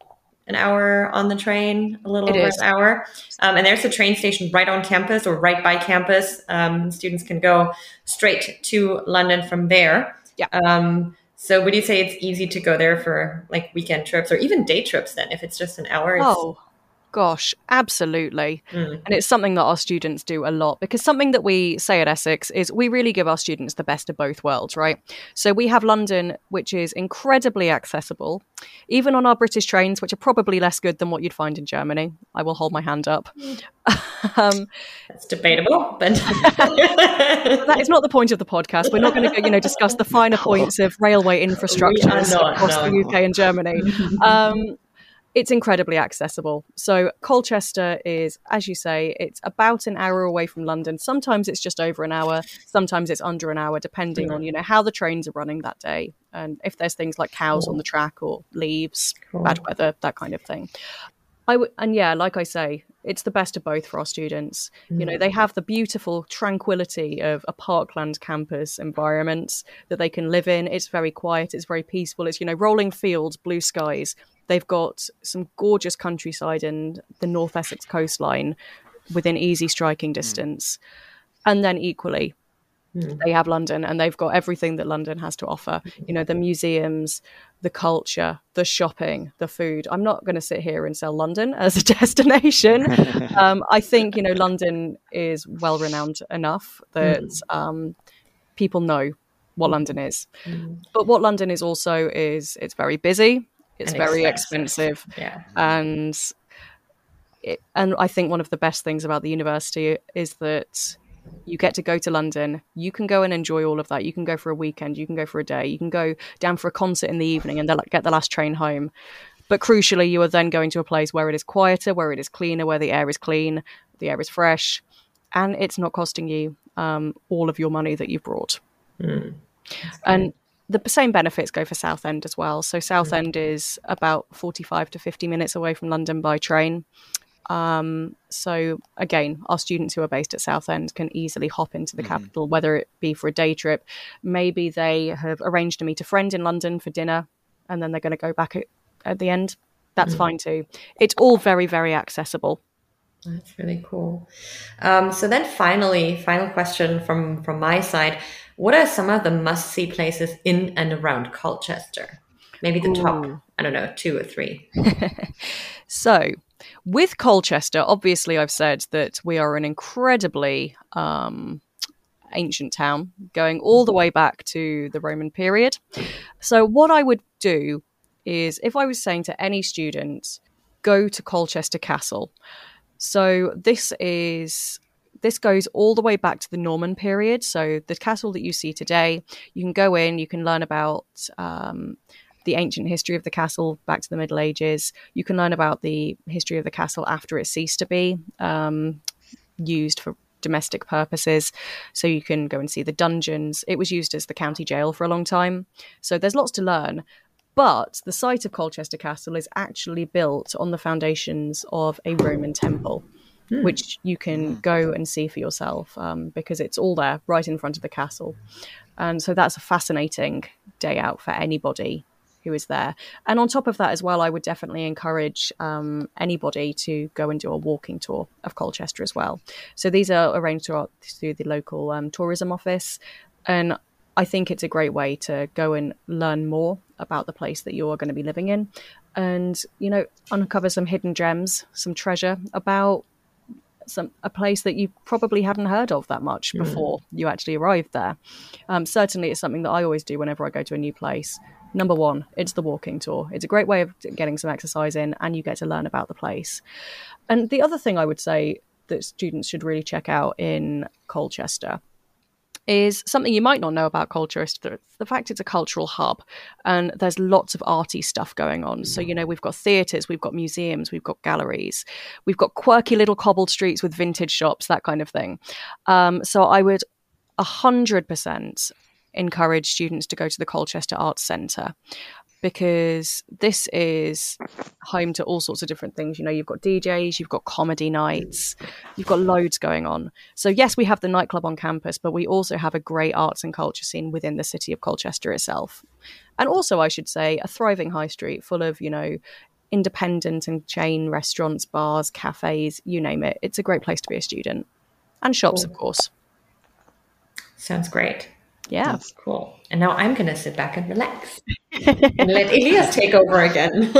on the train, a little over an hour. And there's a train station right on campus or right by campus. Students can go straight to London from there. Yeah. So would you say it's easy to go there for like weekend trips or even day trips then, if it's just an hour? Gosh, absolutely. And it's something that our students do a lot, because something that we say at Essex is we really give our students the best of both worlds, right? So we have London, which is incredibly accessible, even on our British trains, which are probably less good than what you'd find in Germany. I will hold my hand up. That's debatable, but that is not the point of the podcast. We're not going to discuss the finer points of railway infrastructures across the UK and Germany. It's incredibly accessible. So Colchester is, as you say, it's about an hour away from London. Sometimes it's just over an hour. Sometimes it's under an hour, depending on, how the trains are running that day. And if there's things like cows on the track or leaves, bad weather, that kind of thing. Like I say, it's the best of both for our students. They have the beautiful tranquility of a parkland campus environment that they can live in. It's very quiet. It's very peaceful. It's, rolling fields, blue skies. They've got some gorgeous countryside and the North Essex coastline within easy striking distance. And then equally, They have London, and they've got everything that London has to offer. You know, the museums, the culture, the shopping, the food. I'm not going to sit here and sell London as a destination. I think, you know, London is well renowned enough that people know what London is. But what London is also is it's very busy. It's very expensive. Yeah. And I think one of the best things about the university is that you get to go to London. You can go and enjoy all of that. You can go for a weekend. You can go for a day. You can go down for a concert in the evening and then get the last train home. But crucially, you are then going to a place where it is quieter, where it is cleaner, where the air is clean, the air is fresh, and it's not costing you all of your money that you brought. And the same benefits go for Southend as well. So Southend is about 45 to 50 minutes away from London by train. So again, our students who are based at Southend can easily hop into the capital, whether it be for a day trip. Maybe they have arranged to meet a friend in London for dinner, and then they're going to go back at the end. That's fine too. It's all very, very accessible. That's really cool. So then final question from my side. What are some of the must-see places in and around Colchester? Maybe the top, I don't know, 2 or 3. So with Colchester, obviously I've said that we are an incredibly ancient town, going all the way back to the Roman period. So what I would do is, if I was saying to any student, go to Colchester Castle. So this goes all the way back to the Norman period. So the castle that you see today, you can go in, you can learn about the ancient history of the castle back to the Middle Ages. You can learn about the history of the castle after it ceased to be used for domestic purposes. So you can go and see the dungeons. It was used as the county jail for a long time. So there's lots to learn. But the site of Colchester Castle is actually built on the foundations of a Roman temple, which you can go and see for yourself because it's all there right in front of the castle. And so that's a fascinating day out for anybody who is there. And on top of that as well, I would definitely encourage anybody to go and do a walking tour of Colchester as well. So these are arranged through the local tourism office. And I think it's a great way to go and learn more about the place that you're going to be living in and, you know, uncover some hidden gems, some treasure about a place that you probably hadn't heard of that much before you actually arrived there. Certainly it's something that I always do whenever I go to a new place. Number one, it's the walking tour. It's a great way of getting some exercise in and you get to learn about the place. And the other thing I would say that students should really check out in Colchester is something you might not know about Colchester, the fact it's a cultural hub and there's lots of arty stuff going on. So, you know, we've got theatres, we've got museums, we've got galleries, we've got quirky little cobbled streets with vintage shops, that kind of thing. So I would 100% encourage students to go to the Colchester Arts Centre because this is home to all sorts of different things. You know, you've got DJs, you've got comedy nights, you've got loads going on. So yes, we have the nightclub on campus, but we also have a great arts and culture scene within the city of Colchester itself. And also, I should say, a thriving high street full of, you know, independent and chain restaurants, bars, cafes, you name it. It's a great place to be a student. And shops, of course. Sounds great. Yeah. That's cool. And now I'm going to sit back and relax and let Elias take over again.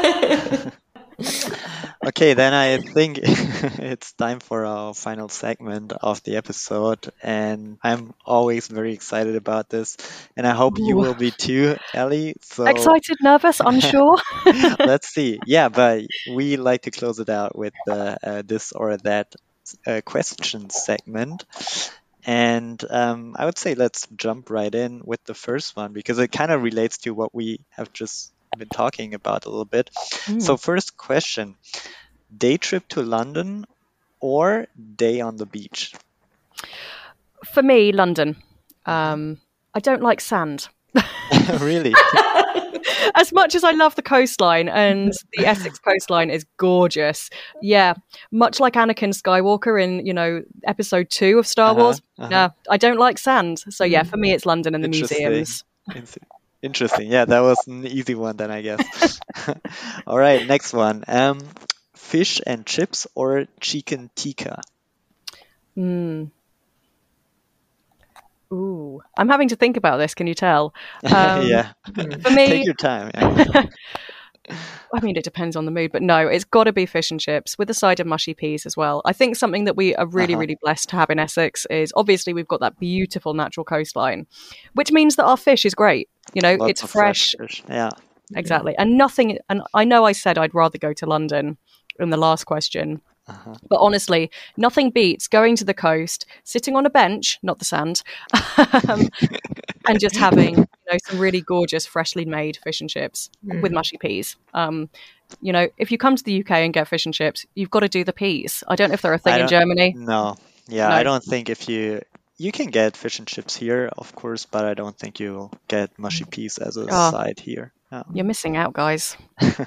Okay, then I think it's time for our final segment of the episode. And I'm always very excited about this. And I hope you will be too, Ellie. So excited, nervous, unsure? Let's see. Yeah, but we like to close it out with the this or that question segment. And I would say let's jump right in with the first one because it kind of relates to what we have just been talking about a little bit. So first question, day trip to London or day on the beach? For me, London. I don't like sand. Really? As much as I love the coastline, and the Essex coastline is gorgeous. Yeah, much like Anakin Skywalker in, you know, episode 2 of Star Wars. No, I don't like sand. So yeah, for me it's London and the museums. Interesting. Yeah, that was an easy one then, I guess. All right, next one. Fish and chips or chicken tikka? Ooh, I'm having to think about this. Can you tell? Yeah. For me, take your time. Yeah. I mean, it depends on the mood, but no, it's got to be fish and chips with a side of mushy peas as well. I think something that we are really, really blessed to have in Essex is obviously we've got that beautiful natural coastline, which means that our fish is great. You know, Lots it's of fresh. fish. Yeah. Exactly. And nothing, and I know I said I'd rather go to London in the last question. But honestly, nothing beats going to the coast, sitting on a bench, not the sand, and just having some really gorgeous, freshly made fish and chips with mushy peas. If you come to the UK and get fish and chips, you've got to do the peas. I don't know if they're a thing in Germany. No. Yeah, no. I don't think if you can get fish and chips here, of course, but I don't think you'll get mushy peas as a side here. Yeah. You're missing out, guys.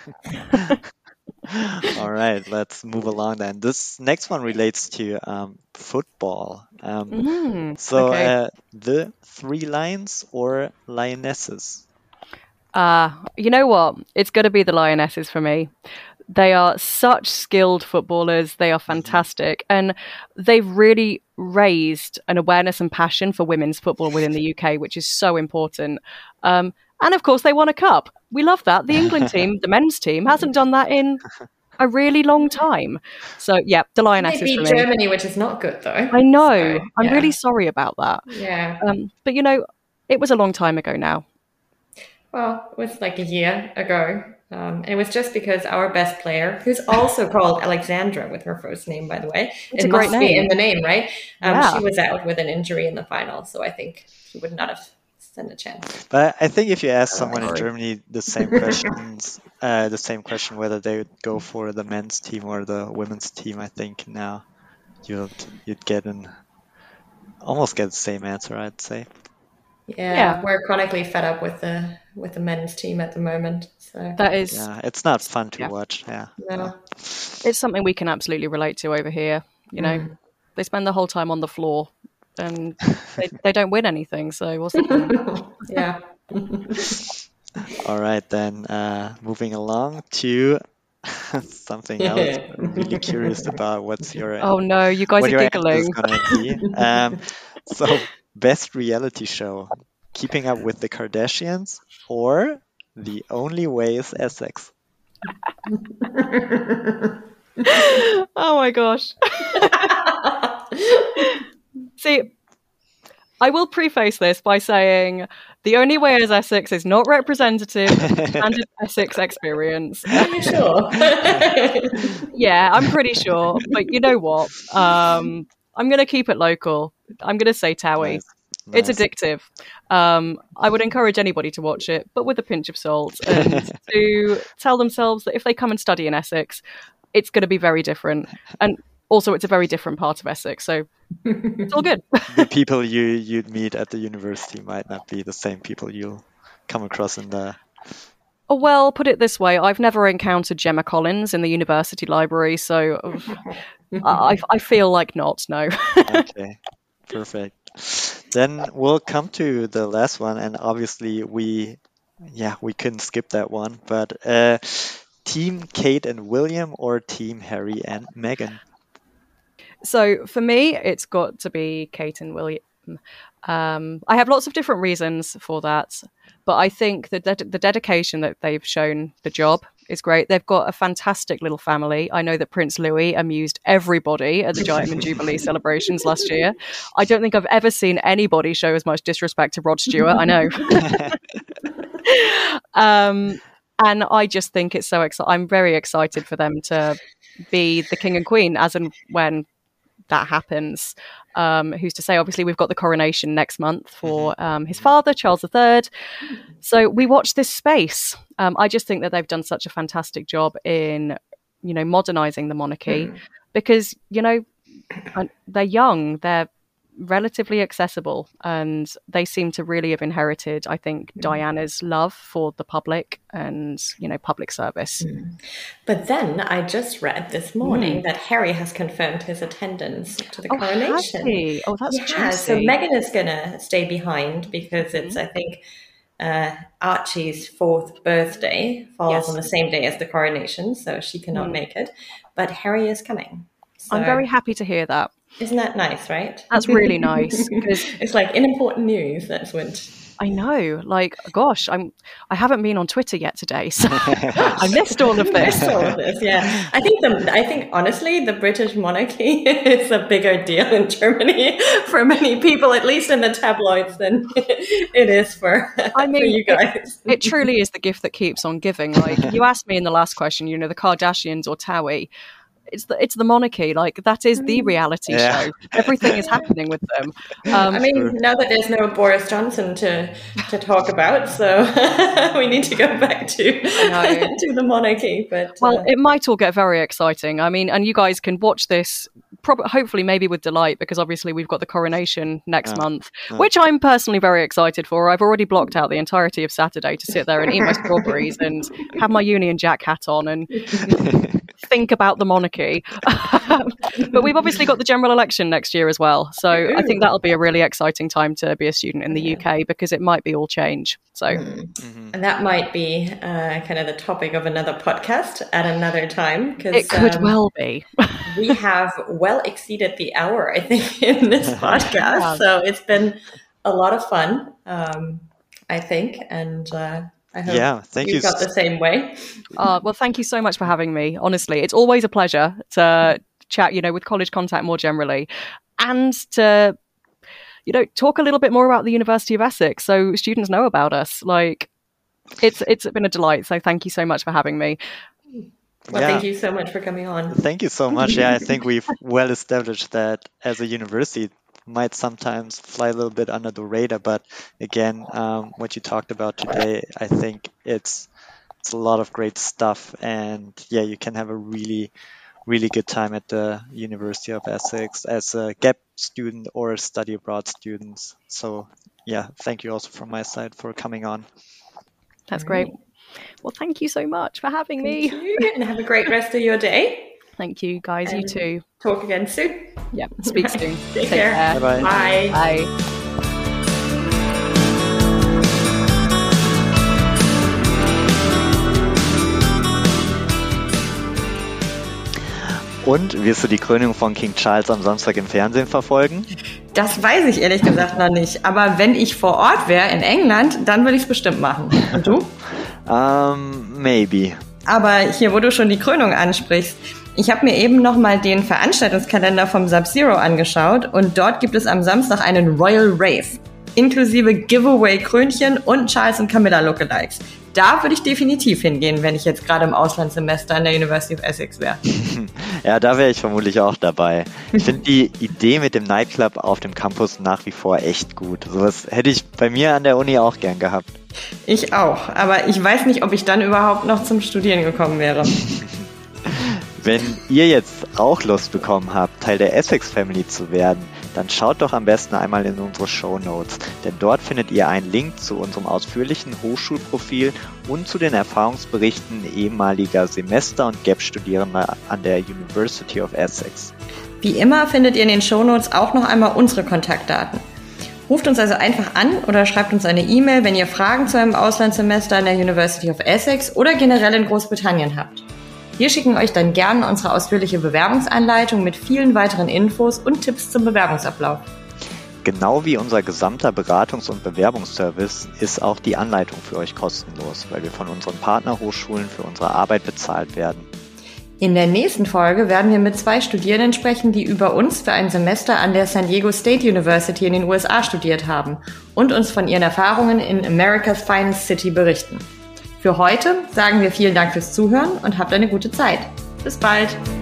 All right, let's move along then. This next one relates to football. The Three Lions or Lionesses? You know what? It's going to be the Lionesses for me. They are such skilled footballers. They are fantastic. And they've really raised an awareness and passion for women's football within the UK, which is so important. And of course, they won a cup. We love that. The England team, the men's team, hasn't done that in a really long time. So, yeah, the Lionesses for me. They beat Germany, which is not good, though. I know. So, I'm really sorry about that. Yeah. But, it was a long time ago now. Well, it was like a year ago. And it was just because our best player, who's also called Alexandra with her first name, by the way. It's a great name. Be in the name, right? She was out with an injury in the final. So I think she would not have stand a chance. But I think if you ask someone in Germany the same question whether they would go for the men's team or the women's team, I think now you'd almost get the same answer, I'd say. Yeah, we're chronically fed up with the men's team at the moment. So that is, it's not fun to watch. Yeah, no. It's something we can absolutely relate to over here. They spend the whole time on the floor, and they don't win anything. So what's the point? Yeah. All right, then moving along to something else. I'm really curious about what's your. Oh no, you guys are giggling. So, best reality show: Keeping Up with the Kardashians or The Only Way is Essex? Oh my gosh. See, I will preface this by saying The Only Way is Essex is not representative of standard Essex experience. Are you sure? Yeah, I'm pretty sure. But you know what? I'm going to keep it local. I'm going to say Towie. Nice. It's addictive. I would encourage anybody to watch it, but with a pinch of salt, and to tell themselves that if they come and study in Essex, it's going to be very different. And also, it's a very different part of Essex, so it's all good. The people you'd meet at the university might not be the same people you'll come across in the... Oh, well, put it this way, I've never encountered Gemma Collins in the university library, so I feel like not, no. Okay, perfect. Then we'll come to the last one, and obviously we couldn't skip that one, but Team Kate and William or Team Harry and Meghan? So for me, it's got to be Kate and William. I have lots of different reasons for that, but I think that the dedication that they've shown the job is great. They've got a fantastic little family. I know that Prince Louis amused everybody at the Diamond Jubilee celebrations last year. I don't think I've ever seen anybody show as much disrespect to Rod Stewart. I know. And I just think it's so exciting. I'm very excited for them to be the king and queen as and when that happens. Who's to say? Obviously, we've got the coronation next month for his father, Charles III. So we watch this space. I just think that they've done such a fantastic job in, modernizing the monarchy because, they're young, they're relatively accessible, and they seem to really have inherited, I think, Diana's love for the public and, public service. But then I just read this morning that Harry has confirmed his attendance to the coronation. Has he? Oh, that's juicy. So Meghan is going to stay behind because it's, I think, Archie's 4th birthday falls on the same day as the coronation, so she cannot make it. But Harry is coming. So. I'm very happy to hear that. Isn't that nice, right? That's really nice. It's like in important news, that's what... I know, like, gosh, I haven't been on Twitter yet today, so I missed all of this. Yeah. I think honestly, the British monarchy is a bigger deal in Germany for many people, at least in the tabloids, than it is for you guys. It truly is the gift that keeps on giving. Like, you asked me in the last question, the Kardashians or Towie. It's the monarchy. Like, that is the reality show. Everything is happening with them. Now that there's no Boris Johnson to talk about, so we need to go back to the monarchy. But it might all get very exciting. I mean, and you guys can watch this hopefully maybe with delight, because obviously we've got the coronation next month, which I'm personally very excited for. I've already blocked out the entirety of Saturday to sit there and eat my strawberries and have my Union Jack hat on and think about the monarchy. But we've obviously got the general election next year as well. So I think that'll be a really exciting time to be a student in the UK, because it might be all change. So, and that might be kind of the topic of another podcast at another time. It could well be. We have well exceeded the hour, I think, in this podcast. So it's been a lot of fun, I think. And I hope thank you got the same way. Well, thank you so much for having me. Honestly, it's always a pleasure to chat, with College Contact more generally, and to, talk a little bit more about the University of Essex so students know about us. Like, it's been a delight. So thank you so much for having me. Well, thank you so much for coming on. Thank you so much. Yeah, I think we've well established that as a university might sometimes fly a little bit under the radar, but again, what you talked about today, I think it's a lot of great stuff, and you can have a really, really good time at the University of Essex as a GAP student or a study abroad student. So thank you also from my side for coming on. That's great. Well, thank you so much for having me. Thank you, and have a great rest of your day. Thank you, guys. You too. Talk again soon. Yeah, speak soon. Take care. Bye-bye. Bye. Bye. Und wirst du die Krönung von King Charles am Samstag im Fernsehen verfolgen? Das weiß ich ehrlich gesagt noch nicht. Aber wenn ich vor Ort wäre in England, dann würde ich es bestimmt machen. Und du? Maybe. Aber hier, wo du schon die Krönung ansprichst, ich habe mir eben nochmal den Veranstaltungskalender vom Sub-Zero angeschaut und dort gibt es am Samstag einen Royal Rave, inklusive Giveaway-Krönchen und Charles und Camilla Lookalikes. Da würde ich definitiv hingehen, wenn ich jetzt gerade im Auslandssemester an der University of Essex wäre. Ja, da wäre ich vermutlich auch dabei. Ich finde die Idee mit dem Nightclub auf dem Campus nach wie vor echt gut. Sowas hätte ich bei mir an der Uni auch gern gehabt. Ich auch, aber ich weiß nicht, ob ich dann überhaupt noch zum Studieren gekommen wäre. Wenn ihr jetzt auch Lust bekommen habt, Teil der Essex Family zu werden, dann schaut doch am besten einmal in unsere Shownotes, denn dort findet ihr einen Link zu unserem ausführlichen Hochschulprofil und zu den Erfahrungsberichten ehemaliger Semester- und GAP-Studierender an der University of Essex. Wie immer findet ihr in den Shownotes auch noch einmal unsere Kontaktdaten. Ruft uns also einfach an oder schreibt uns eine E-Mail, wenn ihr Fragen zu einem Auslandssemester an der University of Essex oder generell in Großbritannien habt. Wir schicken euch dann gerne unsere ausführliche Bewerbungsanleitung mit vielen weiteren Infos und Tipps zum Bewerbungsablauf. Genau wie unser gesamter Beratungs- und Bewerbungsservice ist auch die Anleitung für euch kostenlos, weil wir von unseren Partnerhochschulen für unsere Arbeit bezahlt werden. In der nächsten Folge werden wir mit 2 Studierenden sprechen, die über uns für ein Semester an der San Diego State University in den USA studiert haben und uns von ihren Erfahrungen in America's Finest City berichten. Für heute sagen wir vielen Dank fürs Zuhören und habt eine gute Zeit. Bis bald!